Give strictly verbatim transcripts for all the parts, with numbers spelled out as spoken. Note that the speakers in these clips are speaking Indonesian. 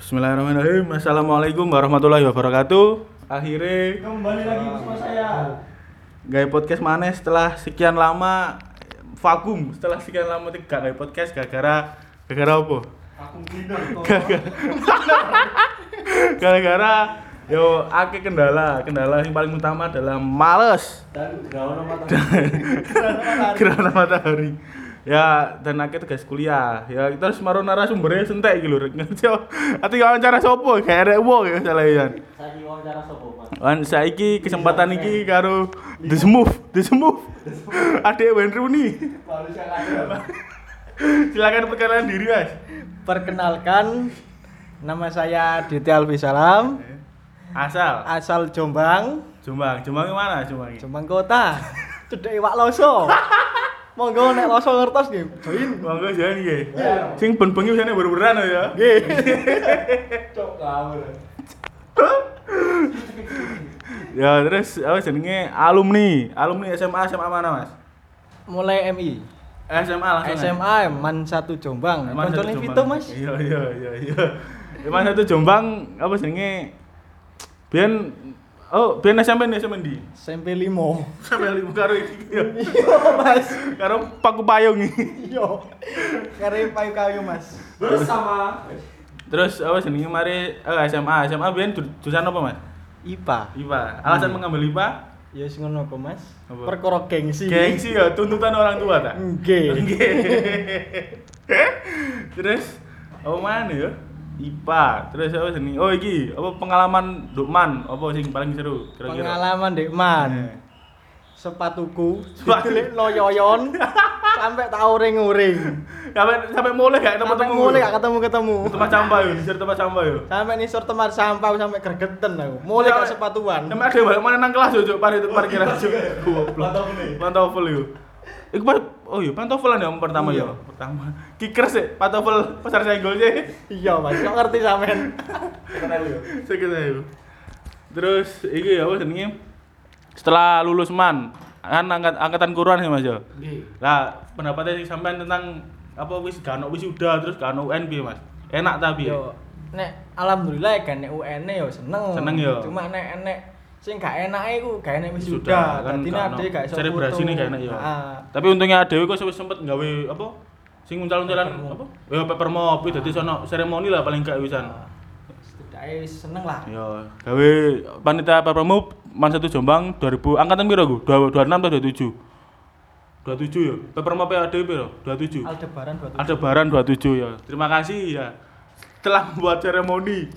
Bismillahirrahmanirrahim. Assalamualaikum warahmatullahi wabarakatuh. Akhirnya kembali lagi bersama saya. Gaya podcast mana setelah sekian lama vakum, setelah sekian lama tidak gaya podcast gara-gara gara-gara apa? Vakum cleaner. Gara-gara yo akeh kendala. Kendala yang paling utama adalah males Dan gerhana matahari. gerhana matahari. Ya, dan akhirnya tugas kuliah. Ya, kita harus maru narasumbernya sentek iki lho. Ati wawancara sapa? Kayak arek wong ya salahyan. Saiki wawancara sapa, Mas? Wan saiki kesempatan iki karo The Smooth, The Smooth. Adek Wayne Rooney. Manusia ada. Silakan perkenalan diri, Mas. Perkenalkan, nama saya Ditya Alfi Salam, Asal asal Jombang, Jombang. Jombang mana Jombang? Jombang Kota. Cedek Iwak Loso. Monggo nek Loso ngertos nggih, join. Monggo jan nggih. Sing ben bengi jane ber-beran ya. Nggih. Cok ngawur. Ya, terus apa jenenge alumni, alumni S M A S M A mana, Mas? Mulai M I. S M A langsung. S M A Man satu Jombang. Man satu Koncone Jombang. Vito, Mas. Iya, iya, iya, iya. Man satu Jombang apa jenenge? Biyen oh, biyen S M P nih S M P ndi? S M P lima. Sampai lima karo iki. ya. Iya, Mas. Karo paku payung iki. Iya. Kare payu kayu, Mas. Bersama Terus apa jenenge mari eh, S M A, S M A biyen ju- jurusan apa, Mas? I P A. I P A. Alasan mengambil I P A? Ya wis ngono kok, Mas. Apa? Perkara gengsi. Gengsi ya, tuntutan orang tua tak? Nggih. Nggih. Terus apa mana ya? I P A. Terus apa jenenge? Oh iki, apa pengalaman Dukman? Apa sing paling seru kira-kira? Pengalaman Dek Man. Eh. Sepatuku Sepatu. didelik loyoyon sampai tak uring-uring. Sampai sampai mulai gak Sampai ketemu. mulai gak ketemu-ketemu. Tempat sampah yo, di tempat sampah yo. Sampai nisor tempat sampah sampai gregeten aku. Mulai gak sepatuan. Sampai ada balik mana nang kelas yo, Cuk, parkir parkiran Cuk. Goblok. Pantofel yo. Iku pas oh iya pantofelan ya pertama Iya. ya. Pertama. Kicker sih, pantofel pasar senggol sih. Iya, Mas. Kok ngerti sampean? Kenal yo. Sekitar yo. Terus iki apa jenenge? Setelah lulus man, kan angkat, angkatan kuruan sih Mas yo. Nggih. Lah, pendapatnya sing sampean tentang apa wis gak ono wisuda terus gak ono U N piye, Mas? Enak ta piye? Yo, nek alhamdulillah kan nek U N-e yo seneng. Seneng yo. Cuma nek nek sing gak enake iku gak enek Wisuda, wisuda. kan Dadi gak nek ono. ade gak iso Selebrasi ini gak enak yo. Heeh. Tapi untungnya dhewe kok wis sempet gawe apa? Sing uncal-uncalan Papermop. apa? Ya paper mop, dadi sono seremoni lah paling gak wisan. Setidaknya seneng lah. Ya, gawe panitia paper mop Man satu Jombang dua ribu angkatan piro ku? dua puluh enam atau dua puluh tujuh? dua puluh tujuh ya. Paper mop ada piro? dua puluh tujuh. Aldebaran dua puluh tujuh. Aldebaran dua puluh tujuh ya. Terima kasih ya telah membuat seremoni.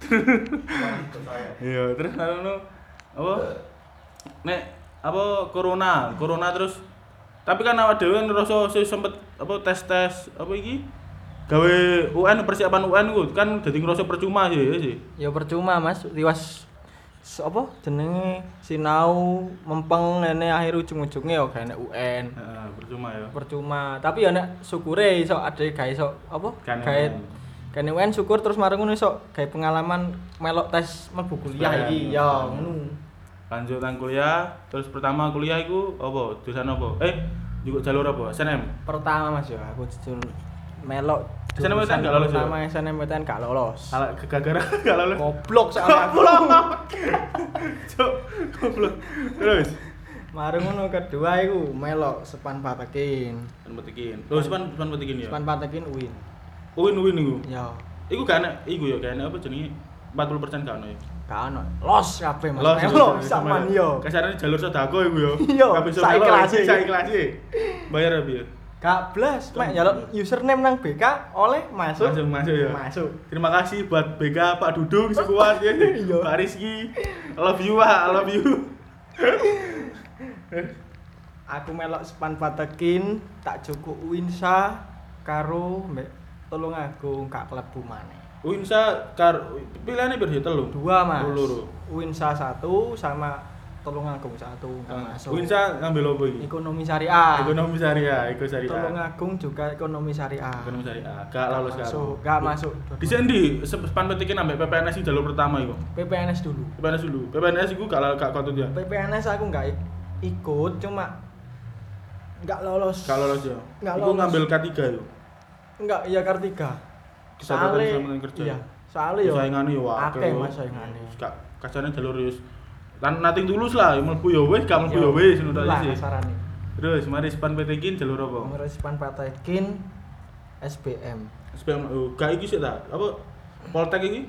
Iya, terus anu apa? Nek apa corona, corona terus tapi kan awak dhewe ngerasa sih sempet apa tes-tes apa iki? Gawe U N persiapan U N ku kan dadi ngerasa percuma sih ya sih. Ya percuma Mas, tiwas s- apa jenenge sinau mempeng ngene akhir ujung-ujunge ya gak enek U N. Heeh, percuma ya. Percuma, tapi ya nek syukure iso ade gawe iso apa? Kan Gawe U N. kan U N syukur terus mareng ngono iso gawe pengalaman melok tes mlebu kuliah iki ya ngono. Lanjut nang kuliah, terus pertama kuliah iku apa? Jurusan apa? Eh, juga jalur apa? S N M. Pertama Mas ya aku jujur melok S N M P T N gak lolos ya? Pertama S N M P T N gak lolos. Salah gara-gara gak lolos. Goblok soalnya aku. Cuk, goblok. Terus Mareng ngono kedua iku melok Sepan Patekin. kan petikin. Loh, sepan sepan petikin ya. Sepan Patekin U I N. Uwin-uwin iku. Ya, Iku gak enak, iku ya gak enak apa jenenge? empat puluh persen gak ono ya. gak ono. Los kabeh Mas. Los, Melok los, sampean los. yo. Kasarane jalur sedako iku ya. Iya, Gak bisa saiki melok, kelasnya. saiki kelasnya. Bayar apa ya? Gak blas, mek njaluk username nang B K oleh masuk. Masuk masuk ya. Masuk. Terima kasih buat B K Pak Dudung sekuat ya. Iya. Pak Rizky. I love you, Pak. I love you. Aku melok Sepan Patekin, tak cukup Uinsa karo mbek Tulungagung gak klebu maneh. Winsa kar pilihane piro ya telu? Dua Mas. Oh, loro. Uinsa satu sama Tulungagung satu gak Ah, masuk. Winsa ngambil apa iki? Ekonomi syariah. Ekonomi syariah, ekonomi syariah. Tulungagung juga ekonomi syariah. Ekonomi syariah. Gak lolos kan. masuk, gak masuk. Di sini sepan petikin ambek P P N S sing jalur pertama iku. P P N S dulu. P P N S dulu. P P N S iku gak gak kontut ya. P P N S aku nggak ik- ikut, cuma nggak lolos. Gak lolos ya. Nggak Iku lolos. ngambil K tiga yo. Nggak, iya Kartika. kesatuan Soale- keselamatan kerja. Iya, soalnya yo Saingane yo akeh Mas saingane. Kak kasane jalur yo lan nating tulus lah, mlebu yo wis, gak mlebu yo Yo, wis ngono lah sih. kasarane. Terus mari Span P T Kin jalur apa? Merespan Patekin S B M. S P M oh, gak iki sih ta? Apa Poltek iki?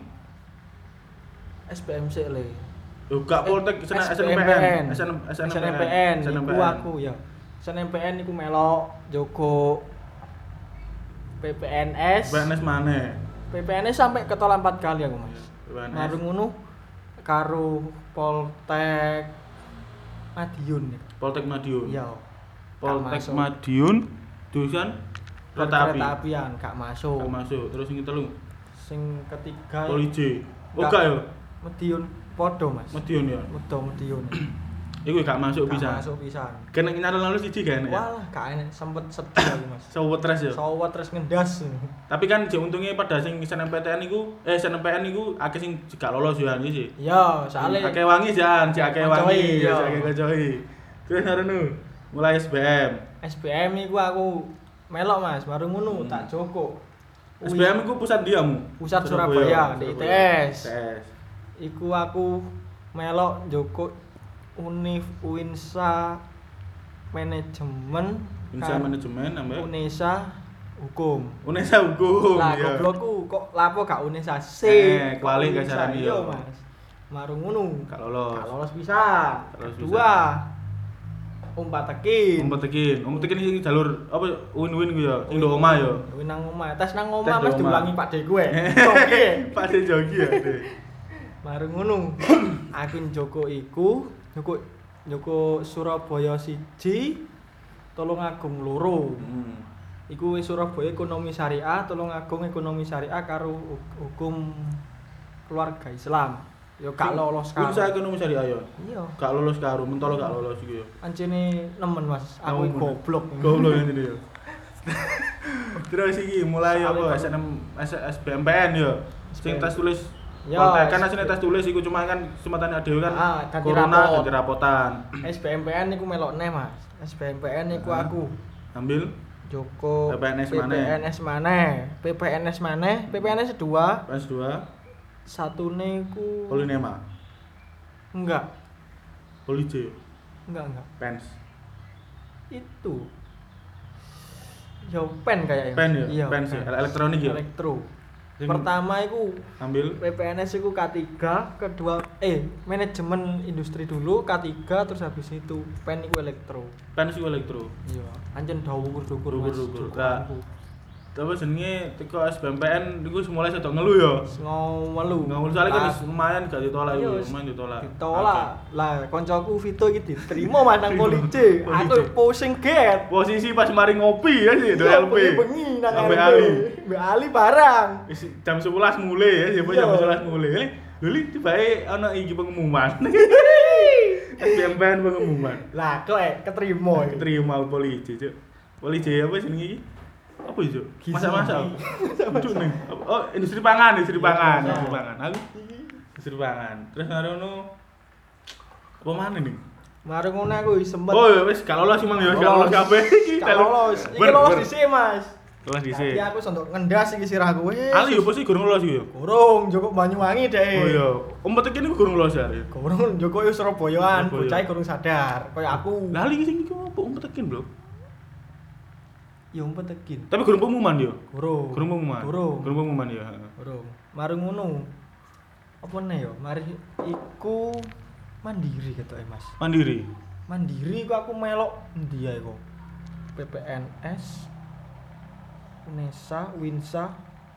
S B M sik le. Yo gak Poltek S N S M P N, S N S N M P N, iku aku ya. S N M P N iku melok Joko P P N S. P N S maneh. P P N S sampai ketolak empat kali aku Mas. P P N S. Baru ngono karo Poltek Madiun. Poltek Madiun. Iya. Poltek masuk. Madiun jurusan kereta api. Kereta apian gak masuk. Gak masuk. Terus sing telu Sing ketiga Polisi. Oh Gak. gak yo. Madiun podo Mas. Madiun ya. Medo Madiun. Iku gak masuk Gak bisa. masuk pisan. Kena nyalon lalu siji kan ya. Walah gak enak sempet sedih aku Mas. Sawet tres ya. Sawat terus ngendas. Tapi kan jek untungnya pada sing S N M P T N iku eh S N M P N iku akeh sing gak lolos yo iki sih. Iya, soalnya akeh wangi jan, cek akeh wangi, Kocoi, ya iya. akeh kocoi. Terus ngono mulai S B M. S B M iku aku melok Mas, baru ngono Hmm. tak joko. S B M iku pusat diamu. Pusat Surabaya, di I T S. I T S. Iku aku melok joko Univ Uinsa Manajemen Insa karo manajemen ambek Unesa Hukum. Unesa hukum. Lah ya. goblokku kok lapo gak Unesa C. Eh, kok kuali Unesa, kasaran iya, iya. Mas. Maru ngono. Gak lolos. Gak lolos bisa. Gak lolos Kedua. Umpat tekin. Umpet tekin, umpet tekin sing jalur apa win-win ku ya, sing ndok omah ya. Win nang omah, tes nang Tes omah di Mas omah. diulangi Pak De gue. Oke. Pak De jogi ya, Dek. Baru ngono. Aku Joko iku, Joko Joko Surabaya siji, Tulungagung loro. Hmm. Iku wis Surabaya ekonomi syariah, Tulungagung ekonomi syariah karo hu- hukum keluarga Islam. Yo gak lolos Kun karo. saya ekonomi syariah ya. Iya. Gak lolos karo, mentolo gak lolos iku ya. Ancene nemen Mas, aku Nemen. goblok. Goblok ini ya. Terus iki mulai apa Soalnya S N M S S B M P N ya. Sing tes tulis Ya, konten kan S- asline tes tulis iku cuma kan kesempatan dhewe kan Ah, ganti corona rapot. ganti rapotan. S B M P N iku melok neh Mas. S B M P N iku Ah. aku Ambil Joko P P N S maneh. P P N S maneh, P P N S maneh, P P N S dua, pas dua satune iku Polinema, enggak, Polije, enggak enggak. Pens. Itu yo pen kayaknya. Pen ya? Iya, Pen sih, elektronik ya? Elektro. Sing Pertama iku ambil P P N S iku K tiga, kedua eh manajemen industri dulu K tiga terus habis itu pen iku elektro. Pens iku elektro. Iya, anjen dhuwur-dhuwur Mas. Dhuwur-dhuwur. cukupanku. Tapi jenenge teko S B M P N iku mulai sedok ngelu ya. Ngomelu. Ngelu soalnya kan Lah, wis lumayan gak ditolak iya, iku, wis lumayan ditolak. ditolak. Lah koncoku Vito iki diterima manang polisi. Polisi. Aku pusing get. Posisi pas mari ngopi ya sih, do Iya, L P. bengi nang Sampai L P. Ali. Mbak Ali barang. Wis jam sebelas mulai ya, jam Iya. sebelas mulai. Luli tibae ana iki pengumuman. S B M P N pengumuman. Lah kok eh, keterima. iki. Keterima polisi, Cuk. Polisi apa jenenge iki? Apa itu? Gizi. Masak-masak. Aduh nih. Oh, industri pangan, industri Iya, pangan, iya. industri pangan. Aku industri pangan. Terus ngono apa mana nih? Mari ngono aku wis sempet. Oh, ya wis gak lolos Mang ya, gak lolos kabeh iki. Gak lolos. Iki Ber- lolos ber- dhisik, Mas. Lolos dhisik. Tapi aku sondok ngendas iki sirahku wis. Ali yo pasti gurung lolos yo. Gorong Joko Banyuwangi deh. Oh iya, umpet iki niku gurung lolos ya. Gorong Joko yo Surabayaan, Surabaya. bocah gorong sadar. Kaya aku. Lah ali sing iki apa umpet tekin, Bro? Ya umpet tekin. Tapi gurung pengumuman yo. Gorong. Gurung pengumuman. Gorong. Gurung pengumuman ya. Gorong. Mari ngono. Apa nih yo? Mari iku mandiri ketoke, Mas. Mandiri. Mandiri kok aku melok endi ae kok. P P N S Unesa, Winsa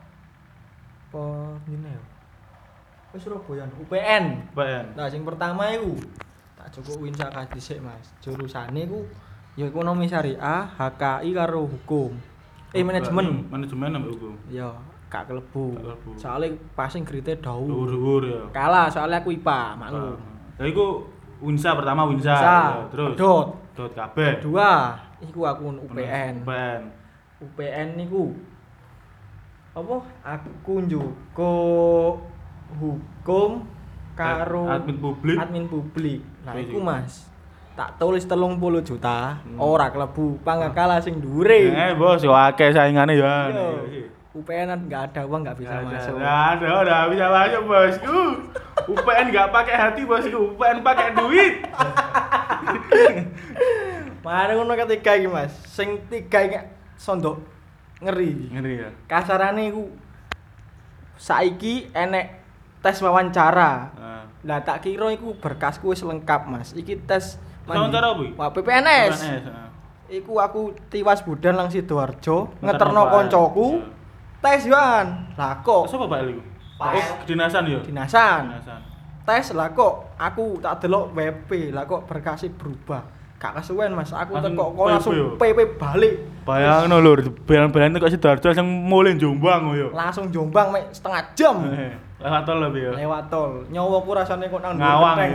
apa ngene yo. Wis Surabaya U P N. P N. Nah, sing pertama iku tak cukup Winsa kae dhisik, Mas. Jurusane iku ya ekonomi syariah, H K I karo hukum. Eh manajemen. Manajemen ambek hukum. Ya, gak kelebu. Gak kelebu. Soale passing grade dawu. Dhuwur-dhuwur ya. Kalah soalnya aku I P A, maklum. Lah iku Winsa pertama Winsa. Winsa, ya, terus pedot. dot kabeh. Kedua, iku aku U P N. U P N. U P N niku apa? Aku njuko hukum karo Admin publik. admin publik. Nah, Wih, iku iki. Mas. Tak tulis telung puluh juta, Hmm. ora klebu, pangkala sing dhuwure. Eh, bos, yo akeh saingane ya. Iya. U P N kan nggak ada uang nggak bisa Nggak ada, masuk. nggak ada, udah bisa masuk bosku. U P N nggak pakai hati bosku, U P N pakai duit. Mari ngono ketiga iki Mas. Sing tiga iki sondok ngeri. Ngeri ya. Kasarane iku saiki enek tes wawancara. Nah. Lah tak kira iku berkasku wis lengkap Mas. Iki tes Wawancara apa iki? Wah, P P N S. P P N S, heeh. Iku aku tiwas budan lang Sidoarjo, Ngeterno ngeterno Pak. koncoku. Tes yoan. Lah kok Sopo Pak iku? Pak. Oh, kedinasan ya? dinasan. Kedinasan. Tes lah kok aku tak delok W P, lah kok berkasnya berubah. Gak kesuwen Mas, aku Langsung teko kok P P langsung yo? P P balik. Bayangno lho, belan-belan kok Sidoarjo langsung mulih Jombang yo. Langsung Jombang mek setengah jam. Eh, Lewat tol lebih ya. Lewat tol. Nyawaku rasane kok nang Ngawang genteng. ya.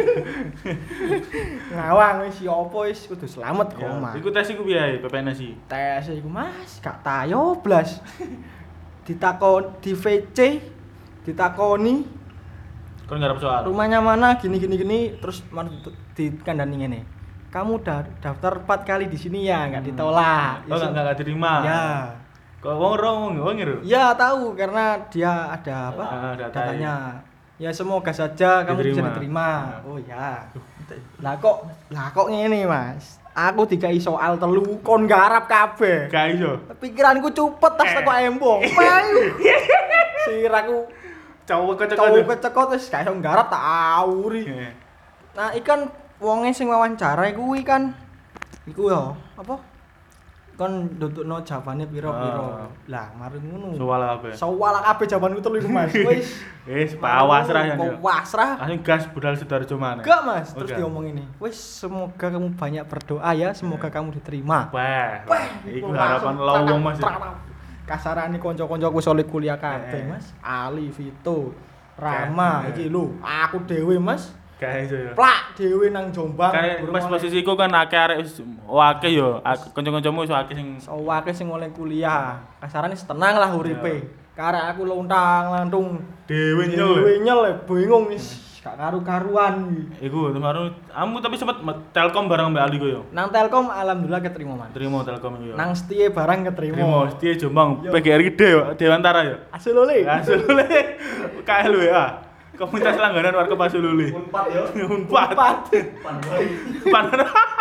Ngawang wis ya apa wis kudu slamet kok, Ya, Mas. iku tes iku piye P P N S iki? Tes iku Mas, gak tayo blas. Ditakon di V C, ditakoni Kon ngarep soal. rumahnya mana gini gini gini terus mar- dikandani ngene. Kamu udah daftar empat kali di sini ya, enggak ditolak. Oh, enggak enggak diterima. Ya. Kok wong ro wong wong ngiru. Ya tahu karena dia ada apa? Ah, data datanya. Ya semoga saja kamu bisa Diterima. diterima. Ah. Oh ya. Lah kok lah kok ngene Mas. Aku dikai soal telu kon garap kabeh. Gak iso. Pikiranku cupet tas Eh. teko embong. Payu. Siraku Cowok cowok kecek-kecek. kecekot wis gak iso nggarap tak awuri. Nah, ikan wonge sing wawancara kuwi kan iku ya, apa? Kon ndudukno jawabane piro-piro. Ah. Lah, mari ngono. Soal apa? Soal kabeh jawabanku telu iku Mas. Wis Wis pasrah ya. Kok pasrah? Langsung gas budal Sidoarjo mana? Enggak, Mas. Terus Oke. diomong ini. Wis semoga kamu banyak berdoa ya, semoga kamu diterima. Wah, Wah, iku harapan lowong Mas. Kasarane kanca-kancaku solid kuliah kabeh, Eh. Mas. Ali, Vito, Rama, Kan. iki lho, aku dhewe, Mas. Gak iso ya. Plak dhewe nang Jombang. Karena durung pas oleh- posisiku kan akeh arek wis akeh yo, ak- kanca-kancamu wis akeh sing Sawake sing oleh kuliah. Kasarane tenang lah uripe. Karek aku lontang-lantung dhewe dhewe nyel. nyel bingung wis gak karu-karuan iki. Iku kemarin kamu tapi sempet met- Telkom bareng Mbak Ali ku yo. Nang Telkom alhamdulillah keterima, Mas. Terima Telkom iku yo. Nang Setie barang Terima keterima. setia Jombang Yo. P G R gede yo, Dewantara yo. Asulule. Asulule K L W A. Komunitas langganan warga Pasulule. Unpad ya. Unpad. Empat. Panwai. Panan.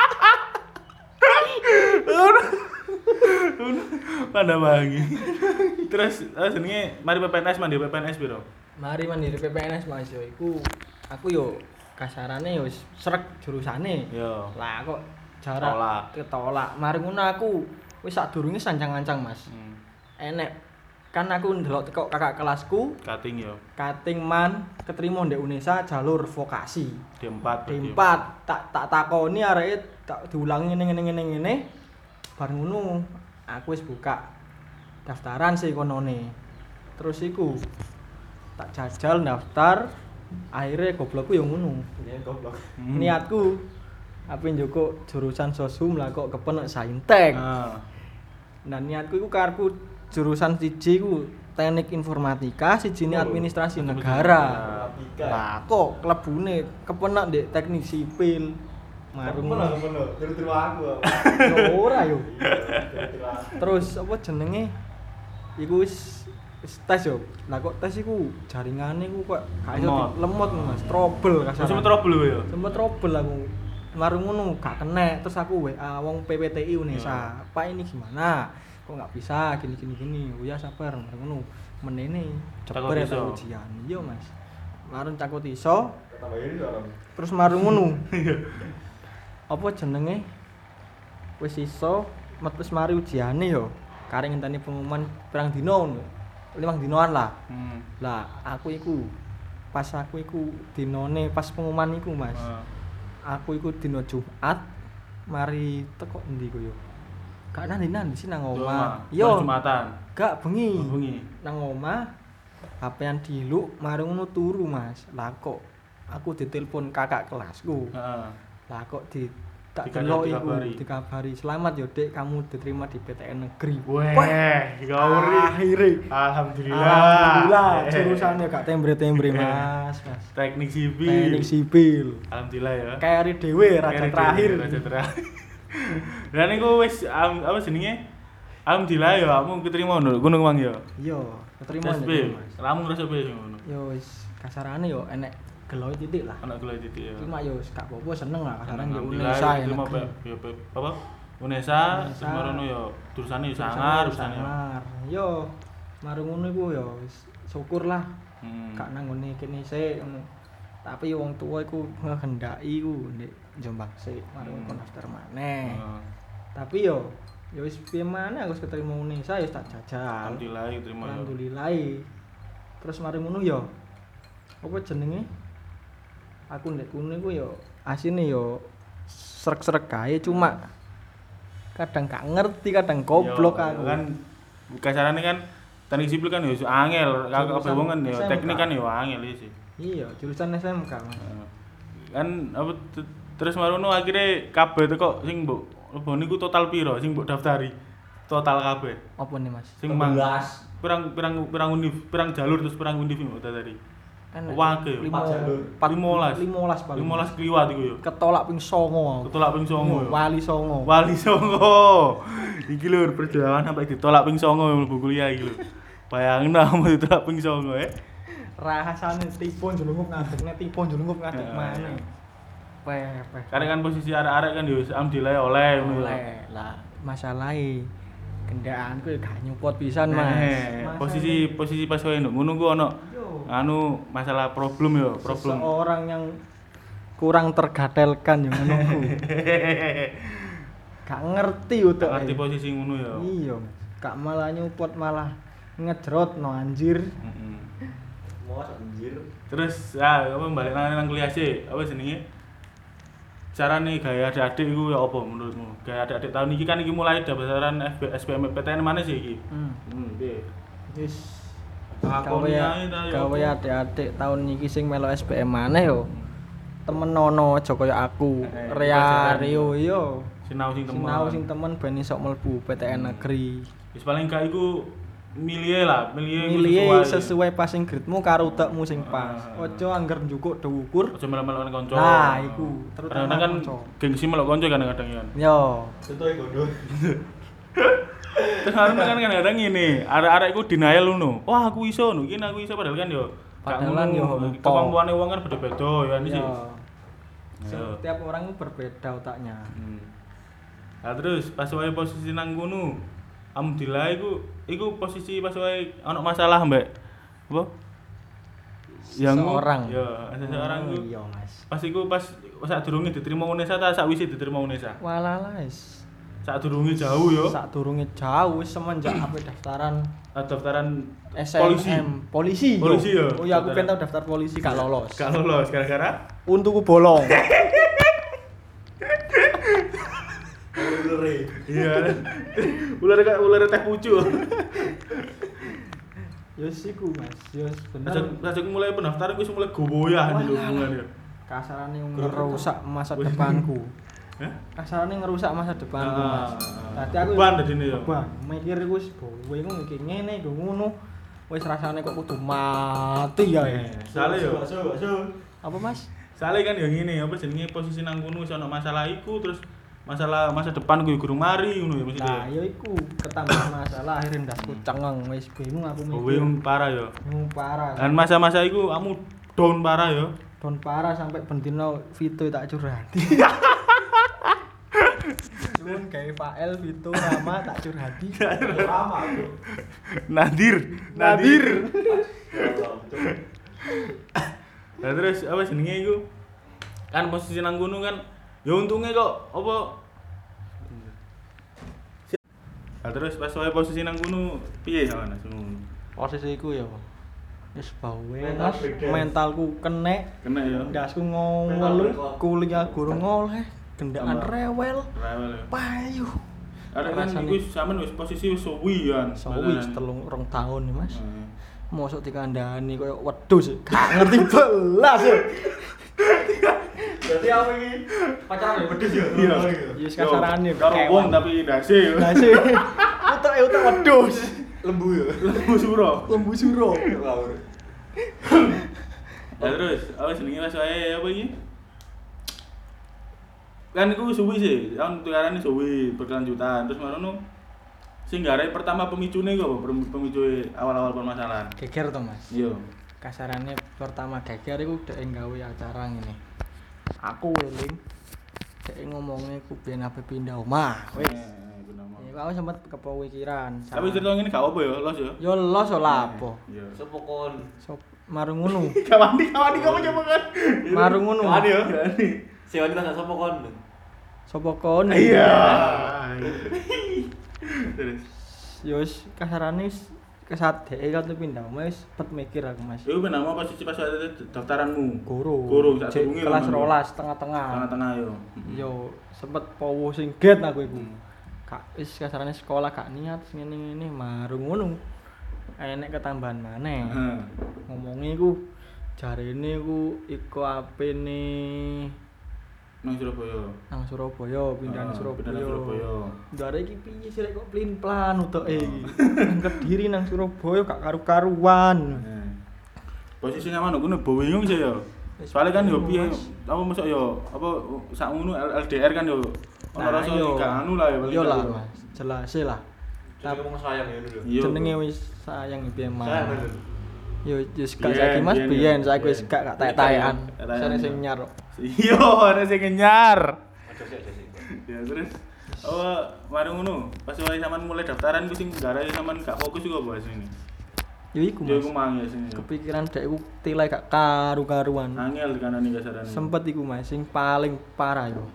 Pada bangi. Terus terus jenenge mari P P N S mandi P P N S piro? Mari mandiri P P N S Mas yo iku aku yo kasarane yo wis srek jurusane. Yo. Lah kok jarak Tolak. ketolak. Mari ngono aku wis sadurunge sancang-ancang Mas. Hmm. Enek kan aku ndelok teko kakak kelasku Cutting yo. kating man keterima ndek Unesa jalur vokasi. D empat. D empat tak tak takoni areke tak diulangi ngene ngene ngene ngene. Bar ngono aku wis buka daftaran sih konone. Terus iku tak jajal daftar akhirnya goblokku yang ngono. Ya goblok. Hmm. Niatku apa njoko jurusan sosum lah kok kepenek saintek. Ah. Dan niatku iku karepku jurusan siji ku teknik informatika, sijine Oh, administrasi administrasi negara. Informatika. Lah kok klebune kepenak ndek teknik sipil. Marung. Mana mana? Terus-terus aku. Yo ora yo. Terus-terus aku. Terus apa jenenge? Iku wis wis tes yo. Lah kok tes iku jaringane iku kok gak iso Lemot. di- lemot Mas, trouble Terus kasar. sempet trouble yo. Sempet trouble aku. Marung ngono gak kena, terus aku W A wong P P T I Unesa. Iya. Pak ini gimana? Kok nggak bisa gini gini gini. Oh ya sabar, marung ngono. Menene Takut jeber iso. ya ujian. Iya Mas. Marung takut iso, Tambahin itu orang. terus marung ngono. Apa jenenge? Wis iso, metu mari ujiane yo. Kareng ngenteni pengumuman pirang dina ngono. Limang dinoan lah. Hmm. Lah, aku iku pas aku iku dinone pas pengumuman iku, Mas. Ah. Aku iku dina Jumat mari teko endi ku yo. Gak nang ndi sih nang omah. Yo. Yo, Jumatan. gak bengi. Bengi. Nang omah H P-an diluk mari ngono turu, Mas. Lah kok aku ditelepon kakak kelasku. Heeh. Lah kok di tak Dika- delok iku dikabari. dikabari, "Selamat yo, Dek, kamu diterima di P T N negeri." Weh, gauri. Akhire. Alhamdulillah. Alhamdulillah, Eh. jurusannya gak tembre-tembre, Mas. Mas. Teknik sipil. Teknik sipil. Alhamdulillah ya. Kari dhewe raja Kere terakhir. dhewe, Raja terakhir. Dan iku wis am- apa jenenge? alhamdulillah ya kamu keterima ngono ngono Mang ya. Iya, keterima S P. Mas. Kamu ngerasa piye sing ngono? Yo wis kasarane yo enek geloy titik lah. Anak gula titik ya. Cuma yo wis gak apa-apa seneng lah kasarane yo Alhamdulillah, Unesa ya. terima Pak. Ya Pak. Apa? Unesa, Unesa. semono ya jurusannya ya sangar, jurusannya. sangar. Yo marung ngono iku yo wis syukur lah. Hmm. Gak nang ngene kene sik ngono. Tapi wong tua iku ngehendaki iku ndek Jombang sik marung Hmm. kon daftar maneh. Heeh. Tapi yo yo wis piye maneh aku wis keterima Unesa yo tak jajal. Alhamdulillah terima ya. Alhamdulillah. Terus mari ngono yo apa jenenge? Aku ndek kono iku yo asine yo srek-srek kae cuma kadang gak ngerti, kadang goblok Yo, aku. Kan kasarane kan teknik sipil kan ya angel, kakak Jurusan kabeh wong kan ya S M K. teknik kan ya angel iki sih. Iya, jurusan S M K. Mas. Heeh. Kan apa t- terus marono akhirnya kabeh teko sing mbok lebon niku total piro sing mbok daftari? Total kabeh. Apa nih, Mas? Sing mang Sebelas. pirang pirang pirang univ, pirang jalur terus pirang univ mbok daftari. Enak. Wake. Limo- Empat jalur. empat- limolas. limolas paling. limolas kliwat iku yo. Ketolak ping songo. Ketolak ping songo yo. Wali songo. Wali Songo. Iki lho perjuangan sampai ditolak ping songo mlebu kuliah iki lho. Bayangin kamu ditolak ping songo eh. Rahasane tipu njlungup ngadegne tipu njlungup ngadeg Ya, maneh. ya. Peh, peh. Karena kan posisi arek-arek kan yo alhamdulillah oleh ngono ya. Oleh lah masalahe kendaraanku ya gak nyupot pisan, Mas. Nah, Masa posisi posisi pas kowe ngono ku ono Yo. anu masalah problem yo, problem. Seseorang yang kurang tergatelkan yang ngono ku. Gak ngerti utek. Ngerti posisi ngono ya. Iya, Mas. Gak malah nyupot malah ngejrot no anjir. Heeh. Mau anjir. Terus ya apa balik nang nang kuliah sih, apa jenenge? Carane gaya adik-adik iku ya apa menurutmu? Gaya adik-adik tahun iki kan iki mulai daftaran F B S P M P T N mana sih iki? Hmm. Hmm, piye? Wis Lakoni gawe ae ta ya. gawe adik-adik tahun iki sing melu S P M maneh yo. Temen nono aja kaya aku. Eh, Rea pelajaran. Rio yo. Sinau sing temen. Sinau sing temen ben iso mlebu P T N Hmm. negeri. Wis paling gak iku milih lah, milih iku Milih sesuai passing grade-mu karo utekmu sing pas. Ah. Ojo angger njukuk dhuwur. Aja melok-melok kanca. Nah, iku, terutama terutama kan kanca. gengsi melok kanca kadang-kadang ya. Yo. Contoh iku ndo. Terus kan kadang-kadang ngene, arek-arek iku denial ngono. Wah, aku iso ngono, iki aku iso padahal kan yo gak Padahal kan ngono. yo lupa. Kemampuane wong kan beda-beda ya ini sih. Yo. Yo. Setiap orang itu berbeda otaknya. Hmm. Nah terus pas wae posisi nang kono, alhamdulillah iku iku posisi pas wae ono masalah mbek apa? Seseorang. Ya, seseorang Oh, iku. iya, Mas. Pas iku pas sak durunge diterima Unesa ta sak wis diterima Unesa? Walalas. Sak durunge jauh yo. Sak durunge jauh wis semenjak apa daftaran Ah, daftaran S M M. polisi. Polisi. yo. Polisi, yo. Oh iya aku pengen tau daftar polisi gak lolos. Gak lolos gara-gara Untukku bolong. Lure. iya. Ular kayak ular teh pucuk. Yo siku Mas. Yo bener. Sejak sejak mulai pendaftaran gue mulai goyah di Walah. hubungan ya. Kasarane ngerusak masa depanku. Hah? Kasarane ngerusak masa depanku, Ah, Mas. ah. Tadi aku Beban dadine ya? Beban. Mikir iku wis kowe iku iki ngene iku ngono. Wis rasane kok kudu mati ya. Eh, Soale yo. Bakso, bakso. Apa, Mas? Soale kan yo ngene, apa jenenge posisi nang kono iso ono masalah iku terus masalah masa depan gue gurung mari ngono ya mesti Nah, deh. ya iku ketambahan masalah akhirnya ndasku cengeng wis bingung aku Kowe mikir. yang parah yo. Bingung parah. Dan masa-masa iku kamu down parah yo. Don parah sampai bentino Vito tak curhati. Cuman kayak Fael, Vito, Rama tak curhati. Lama aku. Nadir, Nadir. Ya Allah, betul. Nah terus apa jenenge iku? Kan posisi nang gunung kan ya untungnya kok apa Nah terus pas wae posisi nang gunung piye sampean ngono? Posisi iku ya. Wis bawe Mental Mas, breakdown. mentalku kenek. Kena ya. Ndasku Mental ngomel breakdown. kuliah gurung oleh, gendaan Tambah. rewel, Rewel ya. payu. Ada kan Rasane- iku sampean wis posisi wis suwi kan. Sawi telung rong tahun nih Mas. Heeh. Mosok dikandani koyo wedhus, gak ngerti belas ya. Berarti apa ini? Pacaran ya pedes ya? Iya. Ya wis kasarane Karo wong tapi dasi. Lah sih. Utek utek wedhus. Lembu ya? Lembu suro. Lembu suro. Ngawur. Ya terus apa jenenge pas wae apa iki? Kan iku suwi sih, tahun tukarane suwi berkelanjutan. Terus marono Sing garai pertama pemicune kok, Pem- pemicu awal-awal permasalahan. Geger to, Mas. Iya. Kasarannya pertama geger iku dhek gawe acara ngene. Aku weling dhek ngomongnya ku ben ape pindah omah. Wis. Eh, bener mau. Ya aku sempet kepikiran. Tapi cerita ngene gak apa ya, los ya. yo los yo lapo. Iya. Sopo kon? Sop marung ngono. Kawani kawani kamu coba kan. Marung ngono. Kawani yo. Kawani. Si wanita gak sopo kon. Sopo kon? Iya. Terus. Yo wis kasarane wis kesat dhek kan pindah omah wis pet mikir aku, Mas. Iku benama posisi pas ada daftaranmu. Guru. Guru sak Cek durunge kelas lho, rolas tengah-tengah. Tengah-tengah yo. Yo sempet powo sing get aku iku. Hmm. Kak wis kasarane sekolah gak niat ngene-ngene marung ngono. Enek ketambahan maneh. Heeh. Ngomongi ku jarene ku iku apene Nang Surabaya. nang Surabaya, pindah nang Ah, Surabaya. pindah nang Surabaya. Ndare iki piye sih rek kok plin-plan utuke iki. Nang Kediri nang Surabaya gak karu-karuan. Heeh. Posisi nang ngono kuwi bingung sih yo. Soalnya kan yo piye apa masuk yo apa sak ngono L D R kan yo ono rasa yo. gak anu lah ya paling Yo gak lah, yo. Mas. Jelas lah. Tapi ngomong sayang ya dulu. Iya, Jenenge bro. wis sayang piye Sayang mah. bener. Yo wis gak Biyen, saiki Mas biyen, biyen yo. saiki wis Biyen. gak gak taek-taekan. Taek-taekan, Sane sing yo. nyar. Iya, ada sing ngenyar. Ada sih, ada sih. Ya terus oh, mari ngono. Pas wae sampean mulai daftaran ku sing garai sampean gak fokus iku apa sini. Yo iku Ya Mas. iku mang ya sini. Kepikiran dek iku tilai gak karu-karuan. Angel kanane kasarane. Sempet iku Mas sing paling parah yo.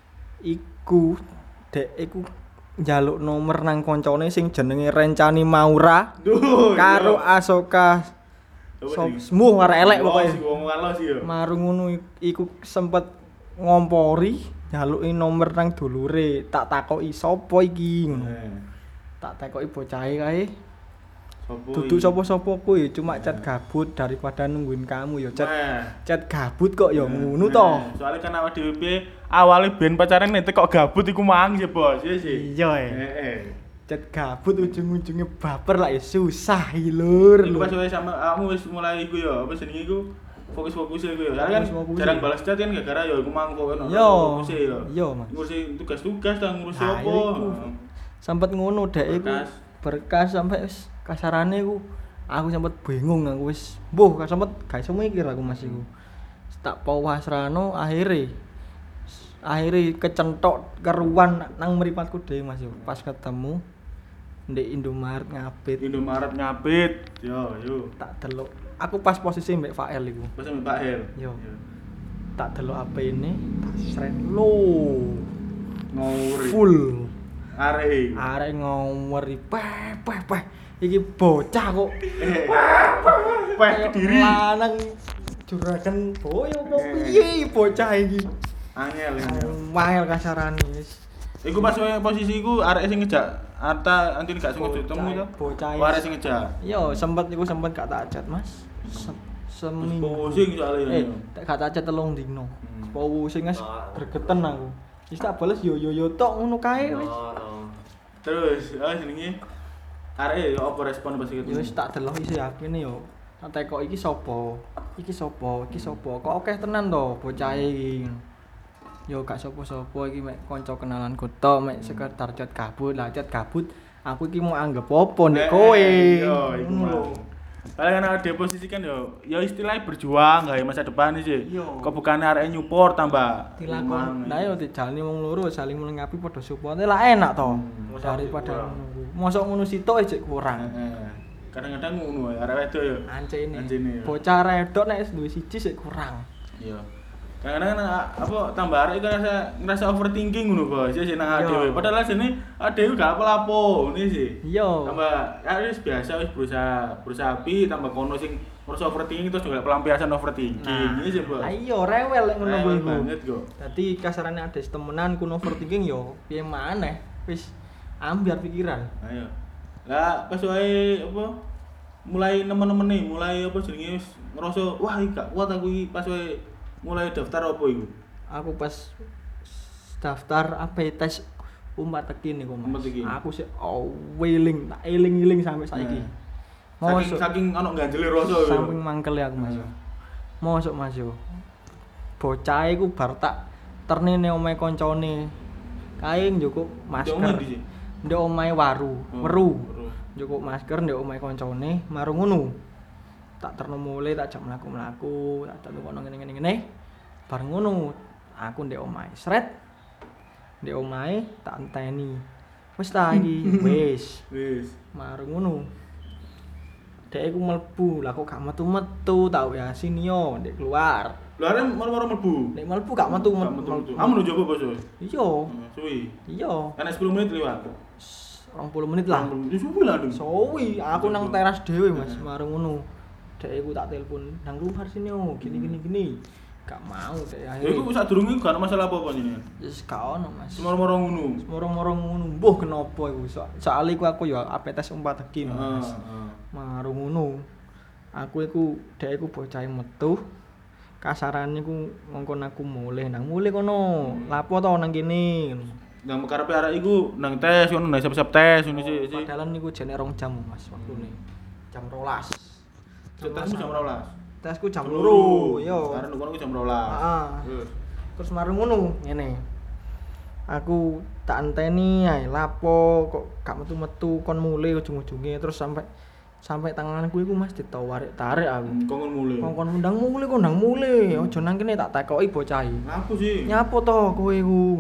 Iku dek iku njaluk nomor nang koncone sing jenenge Rencani Maura Duh. karo Asoka Semu arek elek pokoke. Si wong walos sih yo. Marung ngono ik- iku sempet ngompori njaluki nomor nang dulure, tak takoki sapa iki ngono. Eh, Tak takoki bocahe kae. Sopo? Duduk iki? sapa-sapa kuwi, cuma chat gabut daripada nungguin kamu yo chat. Nah. Chat gabut kok yo Nah, ngono nah. to. Soalnya kan awak dhewe piye awale ben pacaran nek kok gabut iku mang sih, Bos. Iya sih. Iya eh. Heeh. Chat gabut ujung-ujungnya baper lah ya susah iki lur. Iku lur. pas wae sama kamu wis mulai iku yo, apa jenenge iku? Fokus-fokus iku yo. Soalnya kan Fokus-fokus. jarang balas chat kan gara-gara yo iku mang kok ono Yo. fokus yo. Yo, Mas. Ngurusi tugas-tugas ta ngurusi Nah, apa? iku. Sempet ngono dek iku. Berkas. Berkas sampai wis kasarane iku aku sempet bingung aku wis mbuh gak sempet gak iso mikir aku Mas iku. Tak pawasrano akhire akhire kecentok keruan nang mripatku dhewe Mas yo. Pas ketemu ndek Indomaret ngapit Indomaret ngapit. Yo, yo. tak delok. Aku pas posisi mbek Fael iku. Pas sama Pak Hel. Yo. Tak delok H P ini tak sret lo Ngawuri. full. Arek. Arek ngomori peh peh peh iki bocah kok Eh. Peh Kediri. lanang juragan boyo apa piye bocah iki Angel angel. mahel kasarane wis Iku pas wae posisi iku arek sing ngejak Arta antin gak sengaja ketemu to. bocah Oh, arek sing ngejak. yo sempet iku sempet gak tak chat Mas Se- seminggu Pusing soalnya. eh tak gak tak chat telung dino Hmm. pusing Mas Ah. bergeten aku wis tak bales yo yo yo tok ngono kae wis Oh, oh. Terus, ah jenenge arek yo apa respon pas yo ketemu? wis tak delok isi H P ne yo tak tekok iki sapa iki sapa iki sapa kok akeh tenan to bocahe iki yo gak sapa-sapa iki mek kanca kenalanku tok mek sekedar chat gabut lah chat gabut aku iki mau anggap apa nek Eh, kowe Yo, iku Ngono lho. mah. Paling kan ada posisi kan yo, yo istilahnya berjuang gawe masa depan sih. Iya. Kok bukan arek nyupport tambah. dilakon Emang, nah yo dijalani wong loro saling melengkapi padha support lah enak to Hmm. daripada ngono kuwi mosok ngono sitok ejek kurang Heeh. Kadang-kadang ngono ya arek wedok yo. ancene Ancene, yo. bocah redok nek wis duwe siji sik kurang Iya. Kadang-kadang kan apa tambah arek itu ngerasa ngerasa overthinking ngono, Bos. Ya sih nang Iya. dhewe. Padahal jane dhewe gak apa-apa ngene sih. iya Tambah ya wis biasa wis berusaha berusaha api tambah kono sing ngerasa overthinking terus juga pelampiasan overthinking. Ini sih, Bos. ah iya rewel lek ngono kuwi Rewel iku. banget kok. Dadi kasarane ada temenan ku overthinking yo piye maneh wis ambiar pikiran. Ayo. Lah pas wae apa mulai nemen-nemen nih, mulai apa jenenge wis ngerasa wah iki gak kuat aku iki pas wae mulai daftar apa iku? Aku pas daftar apa ya, tes umat tekin niku Umat Mas. Tekin. Aku sih oh wiling, tak eling-eling sampai saiki. Nah. Mosok Saking saking ono ganjele rasa yo. samping mangkel ya aku Mas. Hmm. Mosok Mas yo. Bocah iku bar tak ternene omahe koncone. Kae njukuk Jauh masker. ngendi sih? ndek omahe waru, Oh, weru. weru. Njupuk masker ndek omahe kancane, marung ngono. Tak terno mulai tak jam mlaku-mlaku, tak tak kono ngene-ngene ngene. Bar ngono, aku ndek omahe sret. Ndek omahe tak enteni. Wis ta iki, wis. Wis. Marung ngono. Dek iku mlebu, lah kok gak metu-metu tau ya sini yo ndek keluar. Lha arek moro-moro mlebu. Ndek mlebu gak metu Gak metu. Kamu njogo bos. Iya, Suwi. iya. Kan sepuluh menit liwat. rong puluh menit lah. Ya suwi lah dong. Sowi, aku nang teras dhewe Mas, marung ngono. Dek iku tak telepon, nang luar sini yo, gini gini gini. Gak mau dek Ya akhirnya. iku sadurunge gak ono masalah apa-apa jenengan. Wis gak ono Mas. Semoro-moro ngono. Moro-moro ngono, mbuh kenapa iku. So, soal iku aku ya ape tes umpat iki Heeh, Mas. heeh. Marung ngono. Aku iku dek iku bocah metu. Kasarane iku ngongkon aku mulih nang mulih kono. Lapo to nang kene. Nang karepe arek iku nang tes ngono nang siap-siap tes ngono sih. sih. Padahal niku jane rong jam Mas waktune. Jam rolas. Tesmu jam dua belas. Tesku jam loro, yo. Karena kono ku jam dua belas. Heeh. Terus Terus marung ngono ngene. Aku tak enteni ae lapo kok gak metu-metu kon mulih ujung-ujunge terus sampai sampai tanganku iku Mas ditarik-tarik aku. kongkon mulai. Kongkon undang mulih kok ndang mulih. Aja nang kene tak takoki bocah iki. Ngapu sih. Nyapo to kowe iku?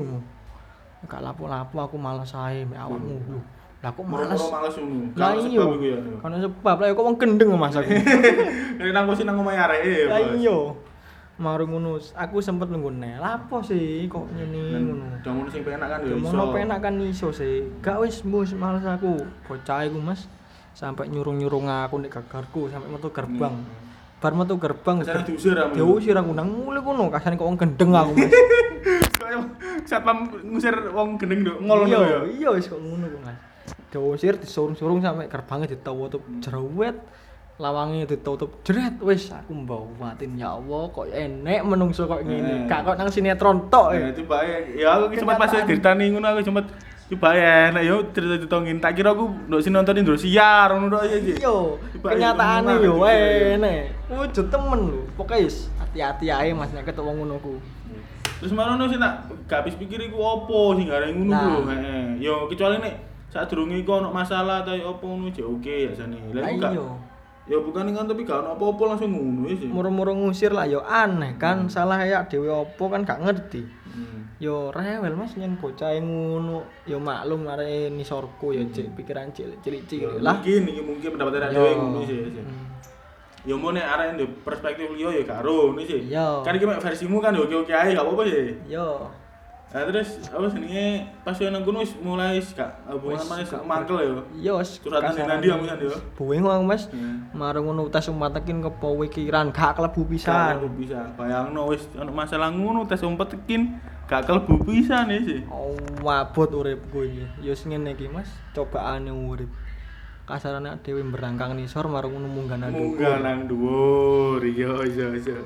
Gak lapo-lapo aku males ae mek awakmu lho. Lah kok males? Moro-moro males ngono. Lah Kalau iya. sebab iku ya. Kan sebab lah kok wong gendeng Mas aku. Nek nang posisi nang omahe areke ya. Lah Bos. iya. Marung ngono, aku sempet nunggu neh. Lapo sih kok ngene ngono. Udah ngono sing penak kan ya iso. Ngono penak kan iso sih. Gak wis mbus males aku. Bocah iku Mas sampai nyurung-nyurung aku nek gagarku sampai metu gerbang. Bar metu gerbang. Kasane diusir aku. Diusir aku nang mulih kono, kasane kok wong gendeng aku Mas. Kayak satpam ngusir wong gendeng nduk ngol Iya, ngono ya. iya wis kok ngono kok Mas. Diusir disurung-surung sampai gerbangnya ditutup jerawet. Lawange ditutup jeret wis aku mbawatin ya Allah kok enek menungso kok ngene. Eh. Gak kok nang sinetron tok. Ya eh. coba ya. Ya aku sempat pas Kenyataan. diritani ngono aku sempat coba ya enak yo cerita-cerita ngene. Tak kira aku nduk sing nonton Indosiar ngono tok ya sih. Iya, Coba kenyataane ya, yo ngono lah. enek. Wujud temen lho. Pokoke wis hati-hati ae Mas nek ketemu ngono ku. Terus marono sih nak gak habis pikir iku opo sing gareng ngono Nah. lho. Heeh. Yo kecuali nek sadurunge iku ono masalah ta opo ngono jek oke ya jane. Lah Lah iku gak iya. ya bukan kan tapi gak ono apa-apa langsung ngono ya sih. Moro-moro ngusir lah yo aneh kan salah ya dhewe opo kan gak ngerti. Hmm. Yo rewel Mas yen bocah ngono. Yo maklum arek nisorku yo cek pikiran cilik-cilik Ya, lah. Mungkin iki mungkin pendapat arek Yo. dhewe ngono sih. sih. Hmm. Ya mau nek arek ndek perspektif liya ya gak ro ngono sih. Iya. Kan iki mek versimu kan ya oke-oke ae gak apa-apa sih. Yo. Nah terus apa jenenge pas yo nang kono wis mulai wis gak hubungan Wis manis gak mangkel ya. Iya wis Curhatan ning kasarane. ndi kamu kan yo. Bingung aku Mas. Hmm. Marung ngono tes umpatekin kepo wikiran gak klebu Pisan pisan. bisa. Bayangno wis ono masalah ngono tes umpet tekin gak kelebu pisan ya sih. Oh, wabot uripku iki. Ya wis ngene iki Mas, cobaane urip. Kasarane dhewe berangkang nisor marung ngono munggah nang Munggah nang dhuwur. Iya iya iya.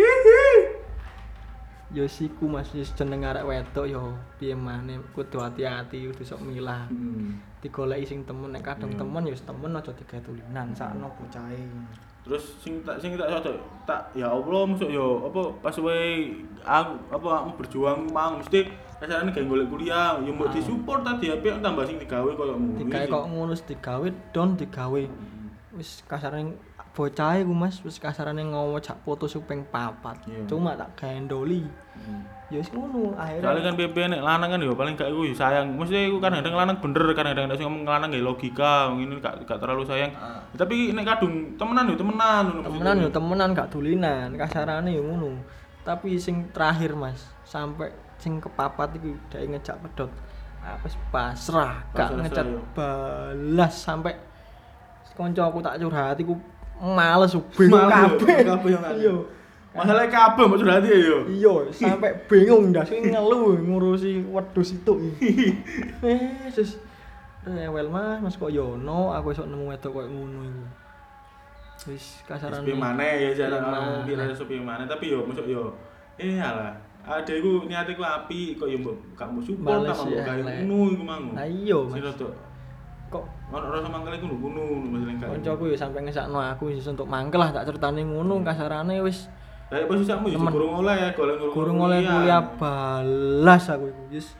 Ya siku Mas, wis jeneng arek wedok ya piye maneh kudu hati-hati kudu sok milah. Hmm. Digoleki sing temen nek kadang Hmm. temen ya wis temen aja digawe tulinan sakno bocahe. Terus sing tak sing tak sadar tak ya Allah masuk yo apa pas wae aku apa aku berjuang mang mesti kasarane gawe golek kuliah yo mbok Ah. disupport tadi apik tambah sing digawe koyo ngono. Digawe iki. kok ngono wis digawe don digawe. Wis kasarane bocahe ku Mas, wis kasarane ngowo jak foto suping papat. Iya. Cuma tak gendoli. Hmm. Ya wis ngono Soalnya akhirnya. kan P P nek lanang kan yo paling gak iku yo sayang. Mesti iku kadang-kadang lanang bener, kadang-kadang nek sing ngomong lanang gak logika, ngene gak gak terlalu sayang. Ah. Tapi nek kadung temenan yo temenan ngono. Temenan yo temenan gak dulinan, kasarane yo ngono. Tapi sing terakhir Mas, sampai sing kepapat iku dhek ngejak pedot. Ah wis pasrah, gak Pasrah, ngecat yo. balas sampai kanca aku tak curhat iku males bingung Males, kabeh. kabeh yang ada. Iya. Masalah kabeh mbok curhati yo. Iya, sampai bingung ndas sing ngeluh ngurusi wedhus itu. Eh, sis rewel Mas, Mas kok yo ono, aku esuk nemu wedok koyo ngono iku. Wis kasarane. Sepi maneh ya jalan Piye kamu maneh. kira sepi maneh tapi yo masuk yo eh alah ada iku niate ku apik kok yo mbok gak mbok support Males tak mbok ya, gawe elek. ngono iku mang. Lah iya, Sing Mas. rodok Kok ono rasa mangkel iku ngono masalah gak. kancaku ya sampai ngesakno aku wis untuk mangkel lah tak ceritane ngono kasarane wis Lah posisi sakmu yo Temen. gurung oleh golek gurung oleh kuliah balas aku iku wis